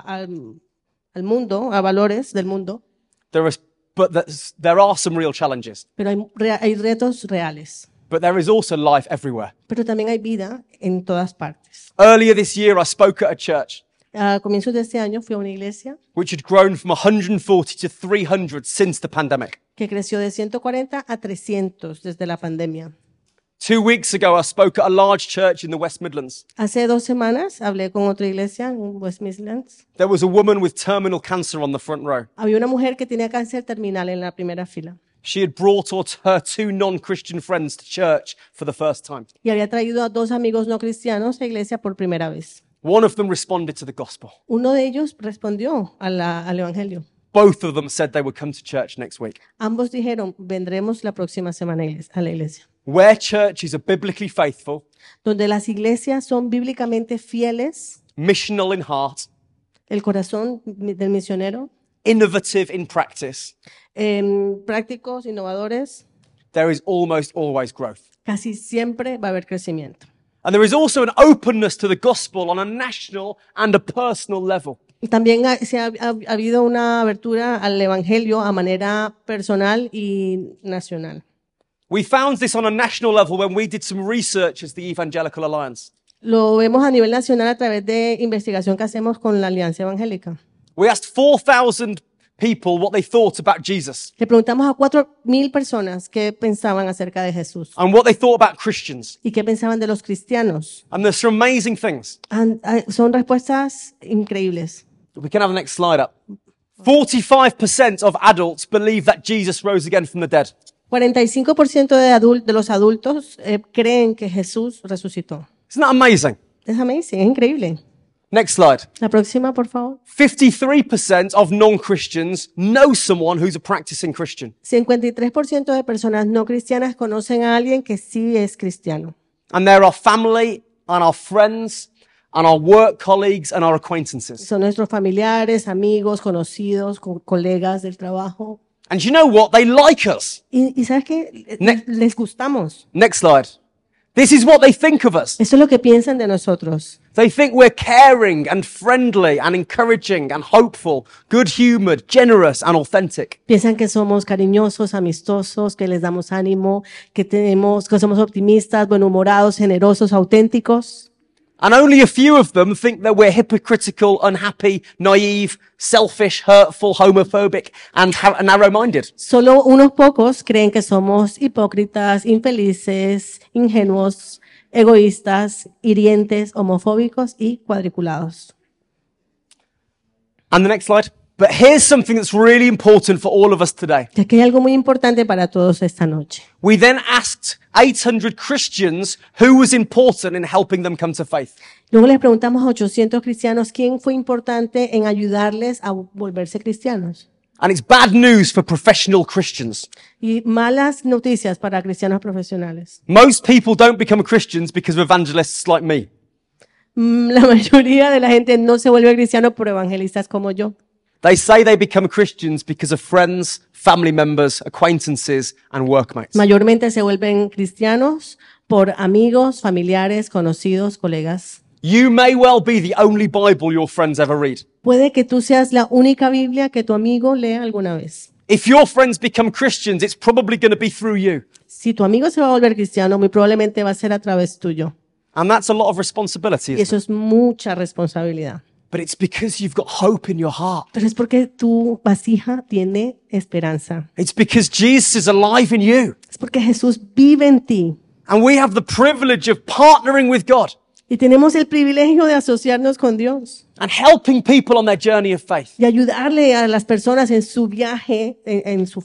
al mundo, a valores del mundo. There are some real challenges, Pero hay retos reales. but there is also life everywhere. Pero también hay vida en todas partes. Earlier this year, I spoke at a church A comienzos de este año fui a una iglesia which had grown from 140 to 300 since the pandemic. que creció de 140 a 300 desde la pandemia. 2 weeks ago, I spoke at a large church in the West Midlands. Hace 2 semanas hablé con otra iglesia en West Midlands. There was a woman with terminal cancer on the front row. Había una mujer que tenía cáncer terminal en la primera fila She had brought her 2 non-Christian friends to church for the first time. y había traído a 2 amigos no cristianos a iglesia por primera vez. One of them responded to the gospel. Uno de ellos respondió al evangelio. Both of them said they would come to church next week. Ambos dijeron, vendremos la próxima semana a la iglesia. Where churches are biblically faithful, Donde las iglesias son bíblicamente fieles, missional in heart, el corazón del misionero, innovative in practice, prácticos, innovadores, there is almost always growth. casi siempre va a haber crecimiento. And there is also an openness to the gospel on a national and a personal level. También ha habido una abertura al evangelio a manera personal y nacional. We found this on a national level when we did some research as the Evangelical Alliance. Lo vemos a nivel nacional a través de investigación que hacemos con la Alianza Evangélica. We asked 4,000 people what they thought about Jesus Le preguntamos a 4,000 personas qué pensaban acerca de Jesús and what they thought about Christians. y qué pensaban de los cristianos. And there's some amazing things. Son respuestas increíbles. We can have the next slide up. 45% of adults believe that Jesus rose again from the dead. 45% de los adultos creen que Jesús resucitó. Isn't that amazing? Es amazing, es increíble. Next slide. La próxima, por favor. 53% of non-Christians know someone who's a practicing Christian. 53% de personas no cristianas conocen a alguien que sí es cristiano. And they're our family and our friends and our work colleagues and our acquaintances. Son nuestros familiares, amigos, conocidos, colegas del trabajo. And you know what? They like us. Y ¿sabes qué? Les gustamos. Next slide. This is what they think of us. Eso es lo que piensan de nosotros. They think we're caring and friendly and encouraging and hopeful, good-humored, generous and authentic. Piensan que somos cariñosos, amistosos, que les damos ánimo, que somos optimistas, buenhumorados, generosos, auténticos. And only a few of them think that we're hypocritical, unhappy, naive, selfish, hurtful, homophobic and narrow-minded. Solo unos pocos creen que somos hipócritas, infelices, ingenuos, egoístas, hirientes, homofóbicos y cuadriculados. And the next slide. But here's something that's really important for all of us today. Y aquí hay algo muy importante para todos esta noche. We then asked 800 Christians who was important in helping them come to faith. Luego les preguntamos a 800 cristianos quién fue importante en ayudarles a volverse cristianos. And it's bad news for professional Christians. Y malas noticias para cristianos profesionales. Most people don't become Christians because of evangelists like me. La mayoría de la gente no se vuelve cristiano por evangelistas como yo. They say they become Christians because of friends, family members, acquaintances, and workmates. Mayormente se vuelven cristianos por amigos, familiares, conocidos, colegas. You may well be the only Bible your friends ever read. Puede que tú seas la única Biblia que tu amigo lea alguna vez. If your friends become Christians, it's probably going to be through you. Si tu amigo se va a volver cristiano, muy probablemente va a ser a través tuyo. And that's a lot of responsibility, Y eso es mucha responsabilidad. But it's because you've got hope in your heart. Pero es porque tu vasija tiene esperanza. It's because Jesus is alive in you. Es porque Jesús vive en ti. And we have the privilege of partnering with God. Y tenemos el privilegio de asociarnos con Dios. And helping people on their journey of faith. Y ayudarle a las personas en su viaje, en su fe.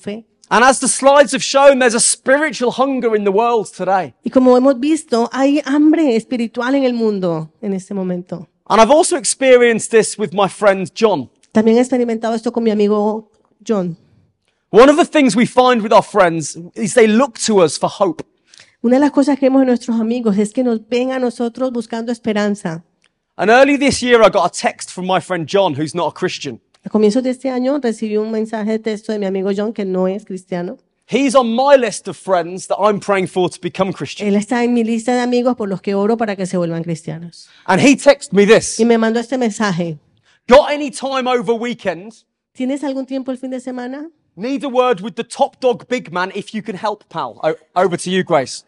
And as the slides have shown, there's a spiritual hunger in the world today. Y como hemos visto, hay hambre espiritual en el mundo en este momento. And I've also experienced this with my friend John. También he experimentado esto con mi amigo John. One of the things we find with our friends is they look to us for hope. Una de las cosas que vemos en nuestros amigos es que nos ven a nosotros buscando esperanza. And early this year, I got a text from my friend John, who's not a Christian. A comienzos de este año recibí un mensaje de texto de mi amigo John, que no es cristiano. He's on my list of friends that I'm praying for to become Christian. Él está en mi lista de amigos por los que oro para que se vuelvan cristianos. And he texted me this. Y me mandó este mensaje. Got any time over weekend? ¿Tienes algún tiempo el fin de semana? Need a word with the top dog big man if you can help, pal. Over to you, Grace.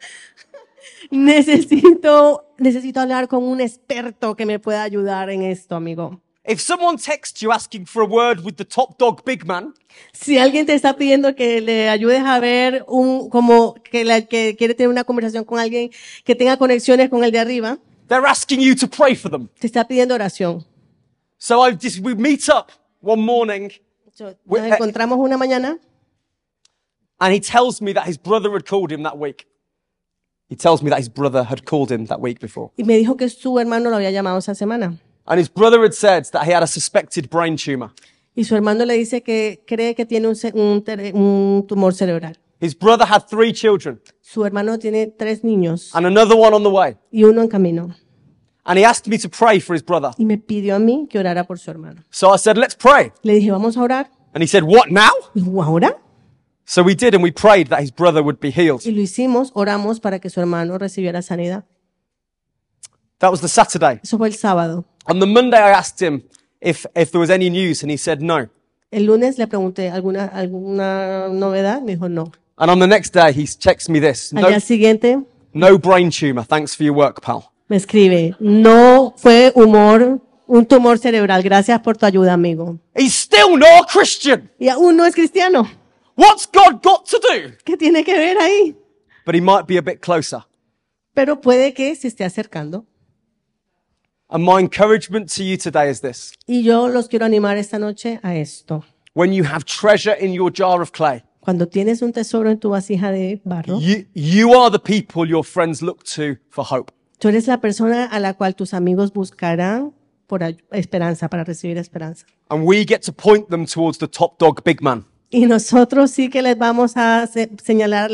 Necesito hablar con un experto que me pueda ayudar en esto, amigo. If someone texts you asking for a word with the top dog big man, si alguien te está pidiendo que le ayudes a ver que quiere tener una conversación con alguien que tenga conexiones con el de arriba, they're asking you to pray for them. Te está pidiendo oración. So we meet up one morning. Nos encontramos una mañana. And he tells me that his brother had called him that week. He tells me that his brother had called him that week before. Y me dijo que su hermano lo había llamado esa semana. And his brother had said that he had a suspected brain tumor. Y su hermano le dice que cree que tiene un tumor cerebral. His brother had 3 children. Su hermano tiene 3 niños. And another one on the way. Y uno en camino. And he asked me to pray for his brother. Y me pidió a mí que orara por su hermano. So I said, let's pray. Le dije, vamos a orar. And he said, what, now? Dijo, ¿ahora? So we did, and we prayed that his brother would be healed. Y lo hicimos, oramos para que su hermano recibiera sanidad. That was the Saturday. Eso fue el sábado. On the Monday, I asked him if there was any news, and he said no. El lunes le pregunté, ¿alguna novedad? Me dijo, no. And on the next day, he texts me this. Al día siguiente, no brain tumor. Thanks for your work, pal. Me escribe, no fue un tumor cerebral. Gracias por tu ayuda, amigo. He's still not a Christian. Y aún no es cristiano. What's God got to do? ¿Qué tiene que ver ahí? But he might be a bit closer. Pero puede que se esté acercando. And my encouragement to you today is this. Y yo los quiero animar esta noche a esto. When you have treasure in your jar of clay, cuando tienes un tesoro en tu vasija de barro, you are the people your friends look to for hope. Tú eres la persona a la cual tus amigos buscarán por esperanza, para recibir esperanza. And we get to point them towards the top dog big man. Y nosotros sí que les vamos a señalar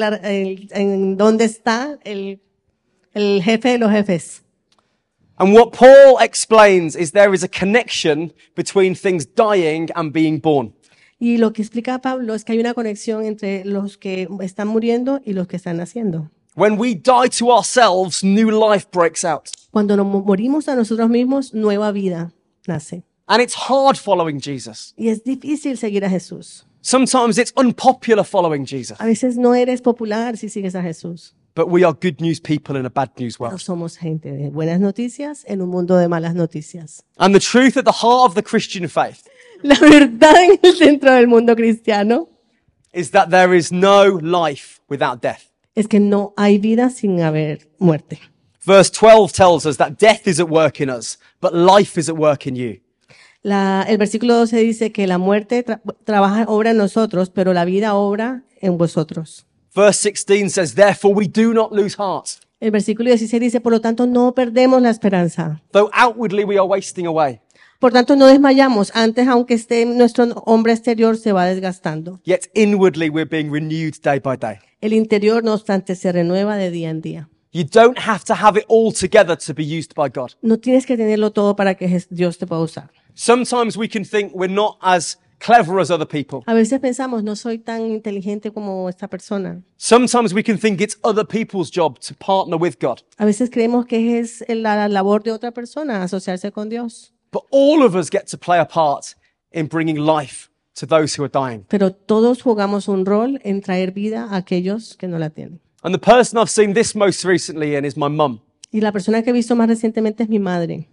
en dónde está el jefe de los jefes. And what Paul explains is there is a connection between things dying and being born. Y lo que explica Pablo es que hay una conexión entre los que están muriendo y los que están naciendo. When we die to ourselves, new life breaks out. Cuando nos morimos a nosotros mismos, nueva vida nace. And it's hard following Jesus. Y es difícil seguir a Jesús. Sometimes it's unpopular following Jesus. A veces no eres popular si sigues a Jesús. But we are good news people in a bad news world. Pero somos gente de buenas noticias en un mundo de malas noticias. And the truth at the heart of the Christian faith, la verdad en el centro del mundo cristiano, is that there is no life without death. Es que no hay vida sin haber muerte. Verse 12 tells us that death is at work in us, but life is at work in you. El versículo 12 dice que la muerte obra en nosotros, pero la vida obra en vosotros. Verse 16 says, therefore we do not lose heart. El versículo 16 dice, por lo tanto no perdemos la esperanza. Though outwardly we are wasting away. Por tanto no desmayamos, antes aunque nuestro hombre exterior se va desgastando. Yet inwardly we're being renewed day by day. El interior, no obstante, se renueva de día en día. You don't have to have it all together to be used by God. No tienes que tenerlo todo para que Dios te pueda usar. Sometimes we can think we're not as clever as other people. A veces pensamos, no soy tan inteligente como esta persona. Sometimes we can think it's other people's job to partner with God. A veces creemos que es la labor de otra persona asociarse con Dios. But all of us get to play a part in bringing life to those who are dying. Pero todos jugamos un rol en traer vida a aquellos que no la tienen. And the person I've seen this most recently in is my mum. Y la persona que he visto más recientemente es mi madre.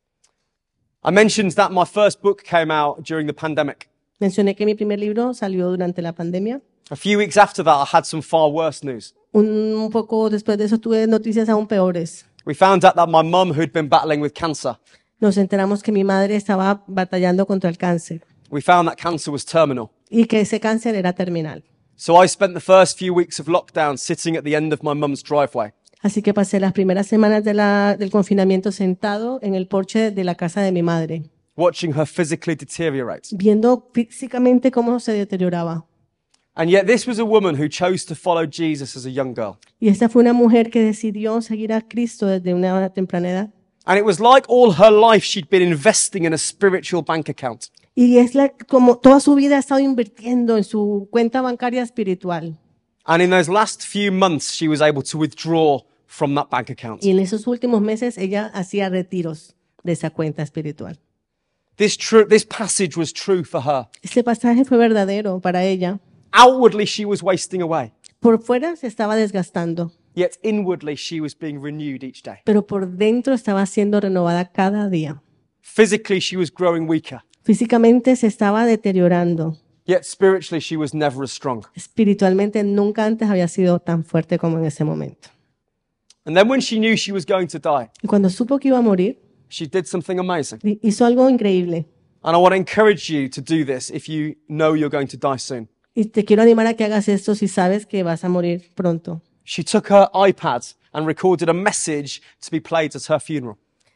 I mentioned that my first book came out during the pandemic. Mencioné que mi primer libro salió durante la pandemia. A few weeks after that, I had some far worse news. Un poco después de eso tuve noticias aún peores. We found out that my mum, who'd been battling with cancer, nos enteramos que mi madre estaba batallando contra el cáncer. We found that cancer was terminal. Y que ese cáncer era terminal. So I spent the first few weeks of lockdown sitting at the end of my mum's driveway. Así que pasé las primeras semanas del confinamiento sentado en el porche de la casa de mi madre, Watching her physically deteriorate. viendo físicamente cómo se deterioraba. And yet this was a woman who chose to follow Jesus as a young girl. Y esta fue una mujer que decidió seguir a Cristo desde una temprana edad. And it was like all her life she'd been investing in a spiritual bank account. Y es como toda su vida ha estado invirtiendo en su cuenta bancaria espiritual. And in those last few months, she was able to withdraw from that bank account. Y en esos últimos meses ella hacía retiros de esa cuenta espiritual. This passage was true for her. Este pasaje fue verdadero para ella. Outwardly, she was wasting away. Por fuera se estaba desgastando, Yet inwardly, she was being renewed each day. pero por dentro estaba siendo renovada cada día. Physically, she was growing weaker. Físicamente se estaba deteriorando. Yet spiritually, she was never as strong. Espiritualmente nunca antes había sido tan fuerte como en ese momento. And then when she knew she was going to die, Y cuando supo que iba a morir, she did something amazing. hizo algo increíble. And I want to encourage you to do this if you know you're going to die soon. Y te quiero animar a que hagas esto si sabes que vas a morir pronto. She took her iPad and recorded a message to be played at her funeral.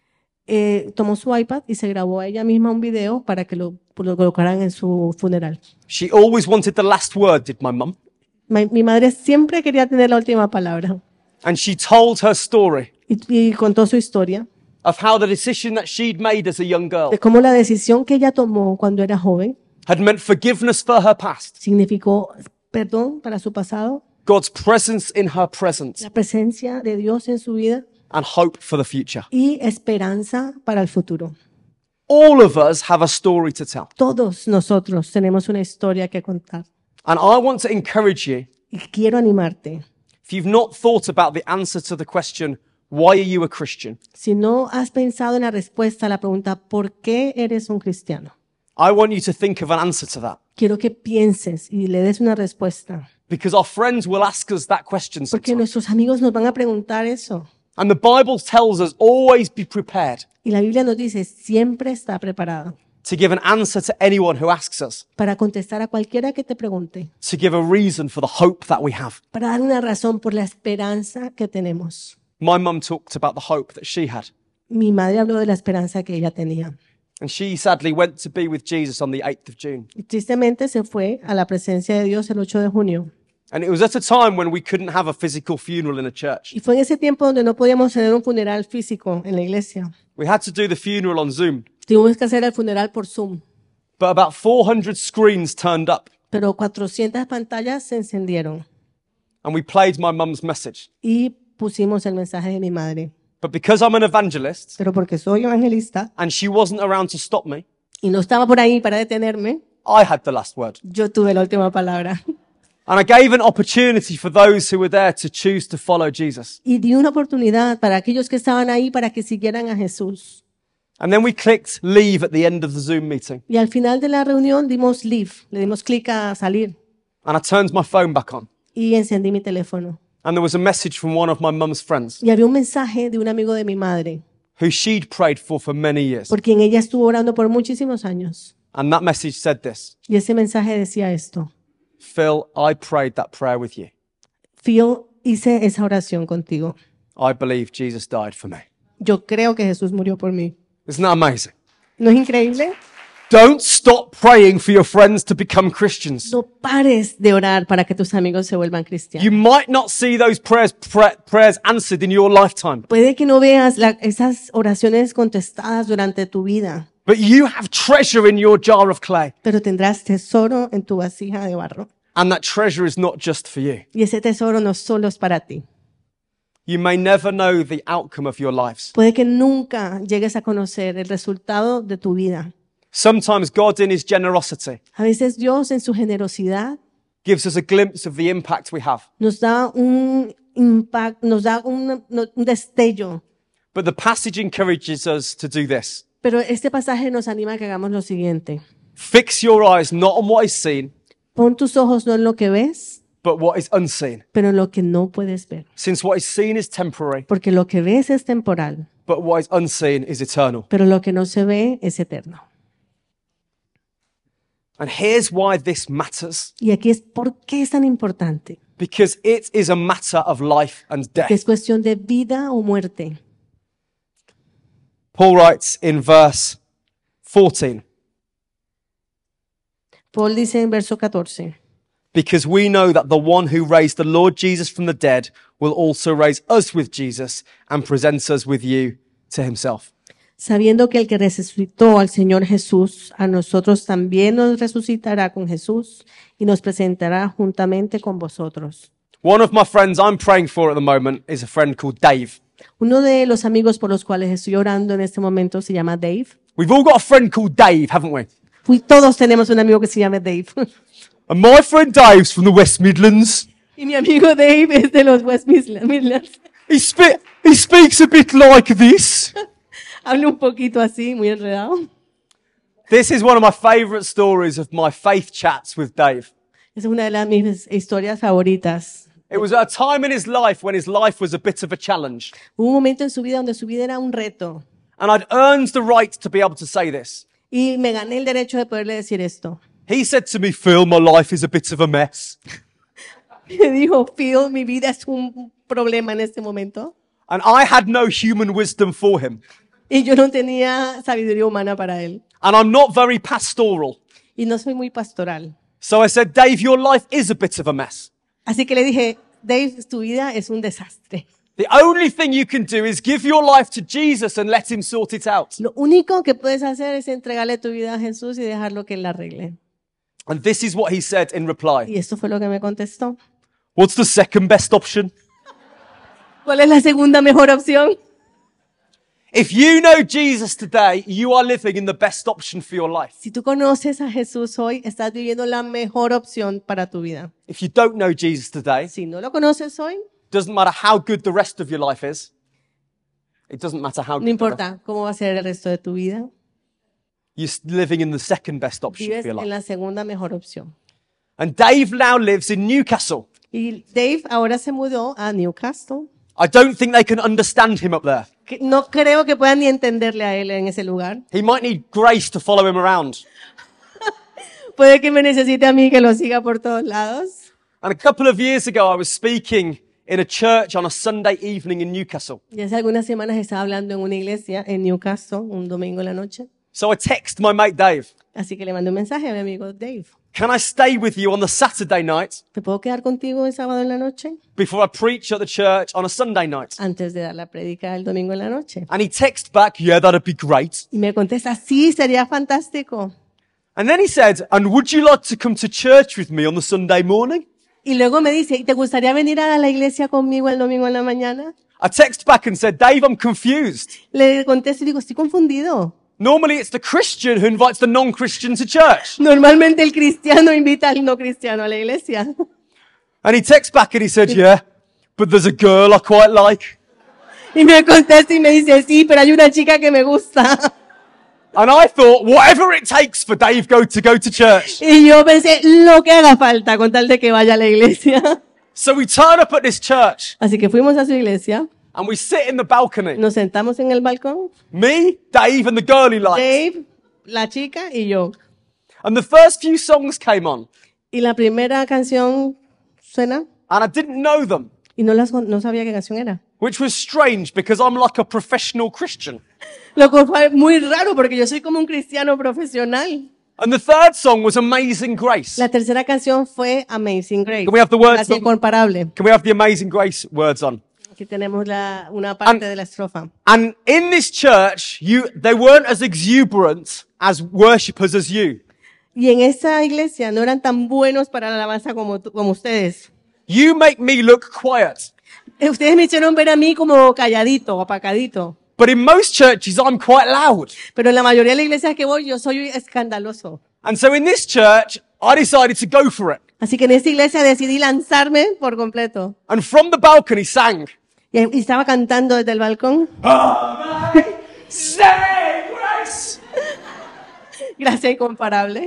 Tomó su iPad y se grabó a ella misma un video para que lo colocaran en su funeral. She always wanted the last word, did my mum. Mi madre siempre quería tener la última palabra. And she told her story Y contó su historia of how the decision that she'd made as a young girl de cómo la decisión que ella tomó cuando era joven had meant forgiveness for her past, significó perdón para su pasado, God's presence in her present, la presencia de Dios en su vida and hope for the future. y esperanza para el futuro. All of us have a story to tell. Todos nosotros tenemos una historia que contar. And I want to encourage you, Y quiero animarte. if you've not thought about the answer to the question, why are you a Christian? Si no has pensado en la respuesta a la pregunta ¿por qué eres un cristiano? I want you to think of an answer to that. Quiero que pienses y le des una respuesta. Because our friends will ask us that question Porque sometimes. nuestros amigos nos van a preguntar eso. And the Bible tells us always be prepared Y la Biblia nos dice, siempre está preparada to give an answer to anyone who asks us, para contestar a cualquiera que te pregunte, to give a reason for the hope that we have. para dar una razón por la esperanza que tenemos. My mum talked about the hope that she had. Mi madre habló de la esperanza que ella tenía. And she sadly went to be with Jesus on the 8th of June. Y tristemente se fue a la presencia de Dios el 8 de junio. And it was at a time when we couldn't have a physical funeral in a church. Y fue en ese tiempo donde no podíamos tener un funeral físico en la iglesia. We had to do the funeral on Zoom. Tuvimos que hacer el funeral por Zoom. But about 400 screens turned up. Pero 400 pantallas se encendieron. And we played my mum's message. Y pusimos el mensaje de mi madre. But because I'm an evangelist, Pero porque soy evangelista and she wasn't around to stop me, y no estaba por ahí para detenerme, I had the last word. yo tuve la última palabra. And I gave an opportunity for those who were there to choose to follow Jesus. Y di una oportunidad para aquellos que estaban ahí para que siguieran a Jesús. And then we clicked leave at the end of the Zoom meeting. Y al final de la reunión dimos leave, le dimos clic a salir And I turned my phone back on. y encendí mi teléfono. And there was a message from one of my mum's friends Y había un mensaje de un amigo de mi madre, who she'd prayed for many years. por quien ella estuvo orando por muchísimos años. And that message said this: Y ese mensaje decía esto: Phil, I prayed that prayer with you. Phil, hice esa oración contigo. I believe Jesus died for me. Yo creo que Jesús murió por mí. Isn't that amazing? ¿No es increíble? Don't stop praying for your friends to become Christians. No pares de orar para que tus amigos se vuelvan cristianos. You might not see those prayers answered in your lifetime, Puede que no veas esas oraciones contestadas durante tu vida, but you have treasure in your jar of clay. pero tendrás tesoro en tu vasija de barro. And that treasure is not just for you. Y ese tesoro no solo es para ti. You may never know the outcome of your lives. Puede que nunca llegues a conocer el resultado de tu vida. Sometimes God in his generosity A veces Dios en su generosidad gives us a glimpse of the impact we have. nos da un impacto, nos da un destello. But the passage encourages us to do this. Pero este pasaje nos anima a que hagamos lo siguiente. Fix your eyes not on what is seen, Pon tus ojos no en lo que ves, but what is unseen. pero en lo que no puedes ver. Since what is seen is temporary, Porque lo que ves es temporal, but what is unseen is eternal. pero lo que no se ve es eterno. And here's why this matters. Y aquí es por qué es tan importante. Because it is a matter of life and death. Que es cuestión de vida o muerte. Paul writes in verse 14. Paul dice en verso 14. Because we know that the one who raised the Lord Jesus from the dead will also raise us with Jesus and present us with you to himself. Sabiendo que el que resucitó al Señor Jesús, a nosotros también nos resucitará con Jesús y nos presentará juntamente con vosotros. One of my friends I'm praying for at the moment is a friend called Dave. Uno de los amigos por los cuales estoy orando en este momento se llama Dave. We've all got a friend called Dave, haven't we? Todos tenemos un amigo que se llama Dave. And my friend Dave's from the West Midlands. Y mi amigo Dave es de los West Midlands. He speaks a bit like this. Habla un poquito así, muy enredado. This is one of my favorite stories of my faith chats with Dave. Es una de las mis historias favoritas. It was a time in his life when his life was a bit of a challenge. Hubo un momento en su vida donde su vida era un reto. And I'd earned the right to be able to say this. Y me gané el derecho de poderle decir esto. He said to me, Phil, my life is a bit of a mess. Me dijo, Phil, mi vida es un problema en este momento. And I had no human wisdom for him. Y yo no tenía sabiduría humana para él. And I'm not very pastoral. Y no soy muy pastoral. So I said, Dave, your life is a bit of a mess. Así que le dije, Dave, tu vida es un desastre. The only thing you can do is give your life to Jesus and let him sort it out. Lo único que puedes hacer es entregarle tu vida a Jesús y dejarlo que él la arregle. And this is what he said in reply. Y esto fue lo que me contestó. What's the second best option? ¿Cuál es la segunda mejor opción? If you know Jesus today, you are living in the best option for your life. Si tú conoces a Jesús hoy, estás viviendo la mejor opción para tu vida. If you don't know Jesus today, si no lo conoces hoy, doesn't matter how good the rest of your life is. It doesn't matter how good. No importa cómo va a ser el resto de tu vida. You're living in the second best option Vives for your life. en la segunda mejor opción. And Dave now lives in Newcastle. Y Dave ahora se mudó a Newcastle. I don't think they can understand him up there. No creo que puedan ni entenderle a él en ese lugar. He might need Grace to follow him around. Puede que me necesite a mí que lo siga por todos lados. And a couple of years ago, I was speaking in a church on a Sunday evening in Newcastle. Y hace algunas semanas estaba hablando en una iglesia en Newcastle, un domingo en la noche. So I text my mate Dave. Así que le mandé un mensaje a mi amigo Dave. Can I stay with you on the Saturday night? ¿Te puedo quedar contigo el sábado en la noche? Before I preach at the church on a Sunday night. Antes de dar la prédica el domingo en la noche. And he texted back, yeah, that'd be great. Y me contesta, sí, sería fantástico. And then he said, and would you like to come to church with me on the Sunday morning? Y luego me dice, ¿y te gustaría venir a la iglesia conmigo el domingo en la mañana? I text back and said, Dave, I'm confused. Le contesto y digo, estoy confundido. Normally it's the Christian who invites the non-Christian to church. Normalmente el cristiano invita al no cristiano a la iglesia. And he texts back and he said, yeah, but there's a girl I quite like. Y me contesta y me dice, sí, pero hay una chica que me gusta. And I thought, whatever it takes for Dave to go to church. Y yo pensé, lo que haga falta con tal de que vaya a la iglesia. So we turn up at this church. Así que fuimos a su iglesia. And we sit in the balcony. Nos sentamos en el balcón. Me, Dave, and the girl he likes. Dave, la chica y yo. And the first few songs came on. Y la primera canción suena. And I didn't know them. Y no sabía qué canción era. Which was strange because I'm like a professional Christian. Lo cual fue muy raro porque yo soy como un cristiano profesional. And the third song was Amazing Grace. La tercera canción fue Amazing Grace. Can we have the words? Gracia incomparable. Can we have the Amazing Grace words on? Aquí tenemos una parte de la estrofa. And in this church, they weren't as exuberant as worshippers as you. Y en esa iglesia no eran tan buenos para la alabanza como ustedes. You make me look quiet. Ustedes me hicieron ver a mí como calladito, apacadito. But in most churches, I'm quite loud. Pero en la mayoría de las iglesias que voy, yo soy escandaloso. And so in this church, I decided to go for it. Así que en esta iglesia decidí lanzarme por completo. And from the balcony sang. Y estaba cantando desde el balcón. Grace. Gracia incomparable.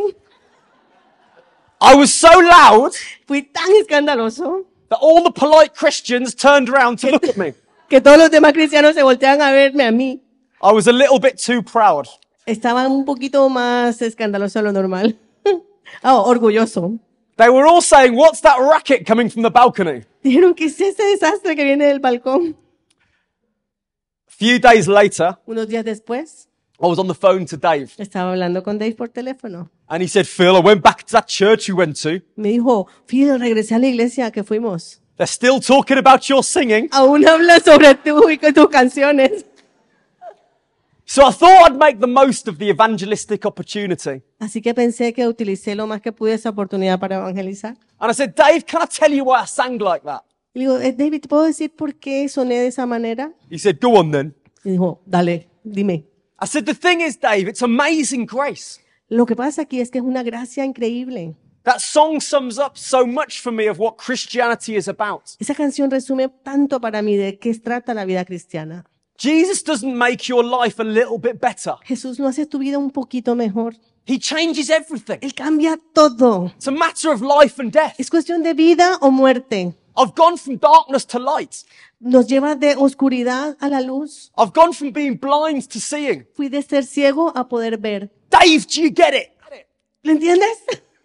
I was so loud. Fui tan escandaloso. That all the polite Christians turned around to look at me. Que todos los demás cristianos se voltean a verme a mí. I was a little bit too proud. Estaba un poquito más escandaloso de lo normal. Oh, orgulloso. They were all saying, what's that racket coming from the balcony? Dijeron, ¿qué es ese desastre que viene del balcón? A few days later, Unos días después, I was on the phone to Dave. estaba hablando con Dave por teléfono. And he said, Phil, I went back to that church you went to. Me dijo, Phil, regresé a la iglesia que fuimos. They're still talking about your singing. Aún habla sobre tú y tus canciones. So I thought I'd make the most of the evangelistic opportunity. Así que pensé que utilicé lo más que pude esa oportunidad para evangelizar. And I said, Dave, can I tell you why I sang like that? Y digo, David, ¿te puedo decir por qué soné de esa manera? He said, go on then. Y dijo, dale, dime. I said, the thing is, Dave, it's amazing grace. Lo que pasa aquí es que es una gracia increíble. That song sums up so much for me of what Christianity is about. Esa canción resume tanto para mí de qué trata la vida cristiana. Jesus doesn't make your life a little bit better. Jesús no hace tu vida un poquito mejor. He changes everything. Él cambia todo. It's a matter of life and death. Es cuestión de vida o muerte. I've gone from darkness to light. Nos lleva de oscuridad a la luz. I've gone from being blind to seeing. Fui de ser ciego a poder ver. Dave, do you get it? ¿Lo entiendes?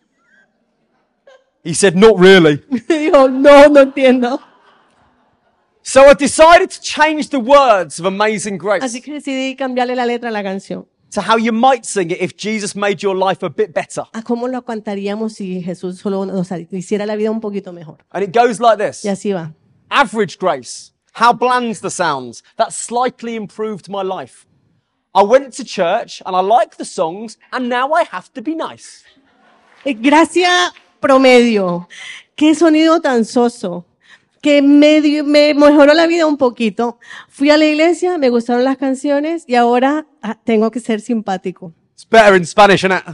He said, not really. Dijo, no entiendo. So I decided to change the words of Amazing Grace Así que decidí cambiarle la letra a la canción. to how you might sing it if Jesus made your life a bit better. A cómo lo cantaríamos si Jesús solo nos hiciera la vida un poquito mejor. And it goes like this. Y así va. Average grace. How bland's the sounds. That slightly improved my life. I went to church and I liked the songs and now I have to be nice. Gracia promedio. Qué sonido tan soso. Que me mejoró la vida un poquito. Fui a la iglesia, me gustaron las canciones y ahora tengo que ser simpático. It's better in Spanish, isn't it?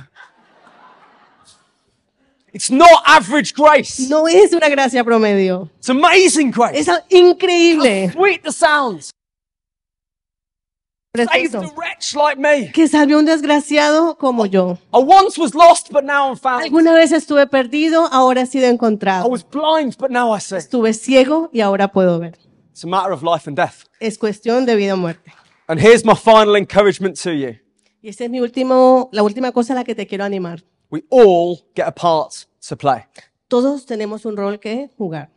It's not average grace. No es una gracia promedio. It's amazing grace. Es increíble. How sweet the sounds. Saved a wretch like me. Que salve a un desgraciado como yo. I once was lost, but now I'm found. Alguna vez estuve perdido, ahora he sido encontrado. I was blind, but now I see. Estuve ciego y ahora puedo ver. It's a matter of life and death. Es cuestión de vida o muerte. And here's my final encouragement to you. Y esta es la última cosa a la que te quiero animar. We all get a part to play. Todos tenemos un rol que jugar.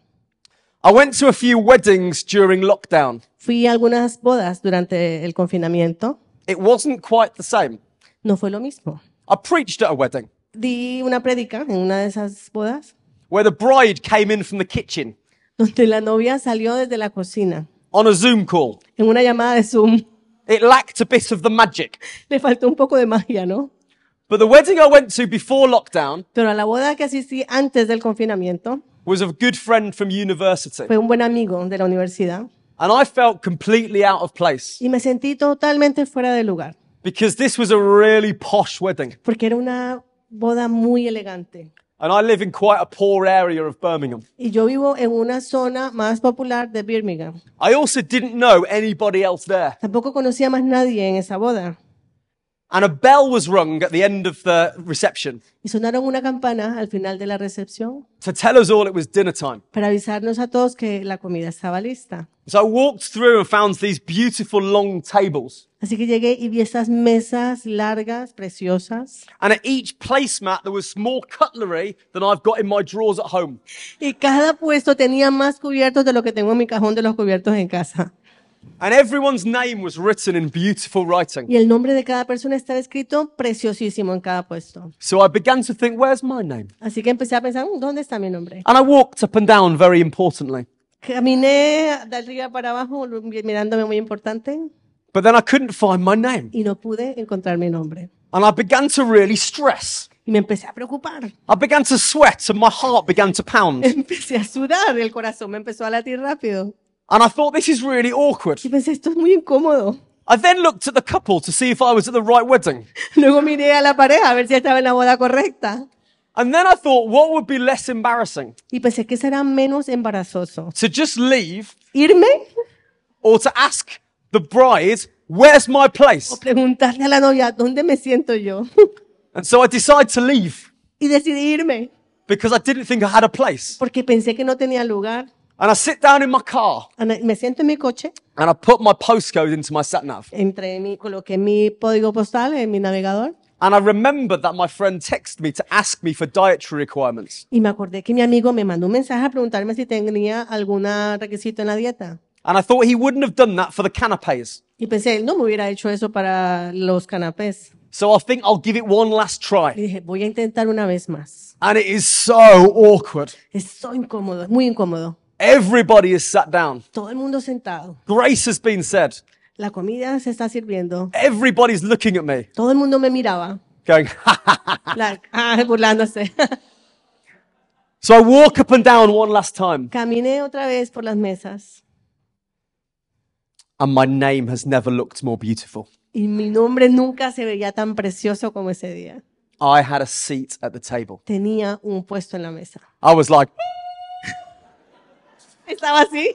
I went to a few weddings during lockdown. Fui a algunas bodas durante el confinamiento. It wasn't quite the same. No fue lo mismo. I preached at a wedding Di una prédica en una de esas bodas where the bride came in from the kitchen donde la novia salió desde la cocina on a Zoom call. en una llamada de Zoom. It lacked a bit of the magic. Le faltó un poco de magia, ¿no? But the wedding I went to before lockdown Pero a la boda que asistí antes del confinamiento was of a good friend from university. fue un buen amigo de la universidad. And I felt completely out of place Y me sentí totalmente fuera de lugar, because this was a really posh wedding. porque era una boda muy elegante. And I live in quite a poor area of Birmingham. Y yo vivo en una zona más popular de Birmingham. I also didn't know anybody else there. Tampoco conocía más nadie en esa boda. And a bell was rung at the end of the reception Y sonaron una campana al final de la recepción to tell us all it was dinner time. para avisarnos a todos que la comida estaba lista. So I walked through and found these beautiful long tables. Así que llegué y vi estas mesas largas, preciosas. And at each placemat there was more cutlery than I've got in my drawers at home. Y cada puesto tenía más cubiertos de lo que tengo en mi cajón de los cubiertos en casa. And everyone's name was written in beautiful writing. Y el nombre de cada persona estaba escrito preciosísimo en cada puesto. So I began to think, where's my name? Así que empecé a pensar, ¿dónde está mi nombre? And I walked up and down very importantly. Caminé de arriba para abajo mirándome muy importante But then I couldn't find my name. y no pude encontrar mi nombre. And I began to really stress. Y me empecé a preocupar. I began to sweat and my heart began to pound. Empecé a sudar, el corazón me empezó a latir rápido. And I thought, this is really awkward. Y pensé, esto es muy incómodo. I then looked at the couple to see if I was at the right wedding. Luego miré a la pareja a ver si estaba en la boda correcta. And then I thought, what would be less embarrassing? Y pensé que será menos embarazoso. To just leave ¿Irme? or to ask the bride, where's my place? O preguntarle a la novia, ¿dónde me siento yo? And so I decided to leave Y decidí irme. because I didn't think I had a place. Porque pensé que no tenía lugar. And I sit down in my car Me siento en mi coche. and I put my postcode into my sat nav. Coloqué mi código postal en mi navegador. And I remembered that my friend texted me to ask me for dietary requirements. Y me acordé que mi amigo me mandó un mensaje a preguntarme si tenía algún requisito en la dieta. And I thought he wouldn't have done that for the canapés. Y pensé, él no me hubiera hecho eso para los canapés. So I think I'll give it one last Y try. dije, voy a intentar una vez más. And it is so awkward. Es so incómodo, es muy incómodo. Everybody is sat down. Todo el mundo sentado. Grace has been said. La comida se está sirviendo. Everybody's looking at me, Todo el mundo me miraba, going, burlándose. So I walk up and down one last time. Caminé otra vez por las mesas And my name has never looked more beautiful. y mi nombre nunca se veía tan precioso como ese día. I had a seat at the table. Tenía un puesto en la mesa. I was like, Estaba así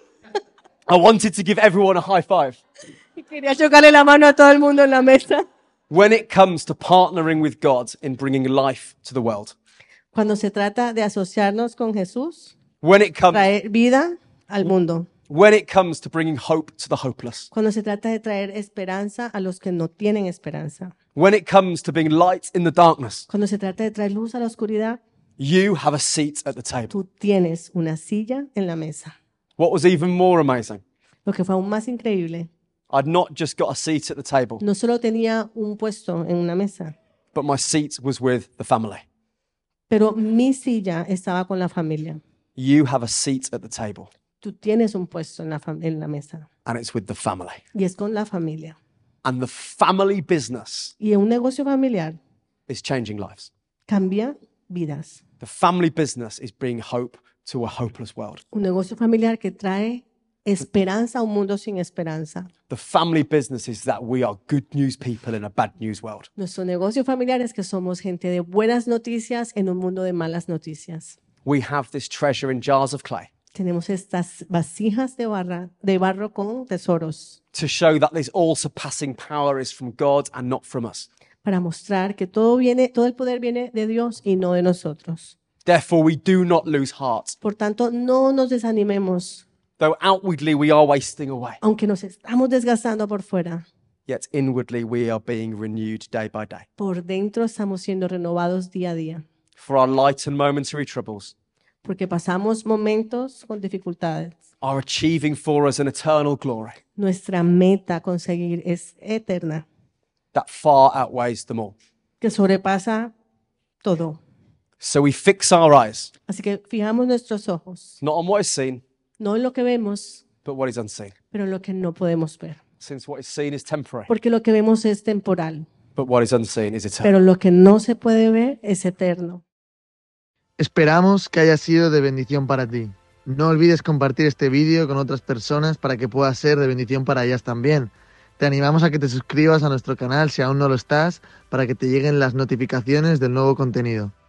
I wanted to give everyone a high five. y quería chocarle la mano a todo el mundo en la mesa. When it comes to partnering with God in bringing life to the world, Cuando se trata de asociarnos con Jesús, when it comes, traer vida al mundo. when it comes to bringing hope to the hopeless, Cuando se trata de traer esperanza a los que no tienen esperanza. when it comes to being light in the darkness, Cuando se trata de traer luz a la oscuridad, you have a seat at the table. tú tienes una silla en la mesa. What was even more amazing, Lo que fue aún más increíble, I'd not just got a seat at the table, no solo tenía un puesto en una mesa, but my seat was with the family. pero mi silla estaba con la familia. You have a seat at the table, Tú tienes un puesto en la mesa and it's with the family. y es con la familia. And the family business Y un negocio familiar is changing lives. cambia vidas. The family business is bringing hope to a hopeless world. Un negocio familiar que trae esperanza a un mundo sin esperanza. The family business is that we are good news people in a bad news world. Nuestro negocio familiar es que somos gente de buenas noticias en un mundo de malas noticias. We have this treasure in jars of clay Tenemos estas vasijas de barro con tesoros to show that this all-surpassing power is from God and not from us. para mostrar que todo el poder viene de Dios y no de nosotros. Therefore, we do not lose heart. Por tanto, no nos desanimemos, Though outwardly we are wasting away, aunque nos estamos desgastando por fuera. yet inwardly we are being renewed day by day. Por dentro estamos siendo renovados día a día, For our light and momentary troubles porque pasamos momentos con dificultades. are achieving for us an eternal glory Nuestra meta a conseguir es eterna, that far outweighs them all. que sobrepasa todo. So we fix our eyes, Así que fijamos nuestros ojos, not on what is seen, no en lo que vemos, but what is unseen. pero en lo que no podemos ver. Since what is seen is temporary, Porque lo que vemos es temporal, but what is unseen is eternal. pero lo que no se puede ver es eterno. Esperamos que haya sido de bendición para ti. No olvides compartir este vídeo con otras personas para que pueda ser de bendición para ellas también. Te animamos a que te suscribas a nuestro canal si aún no lo estás, para que te lleguen las notificaciones del nuevo contenido.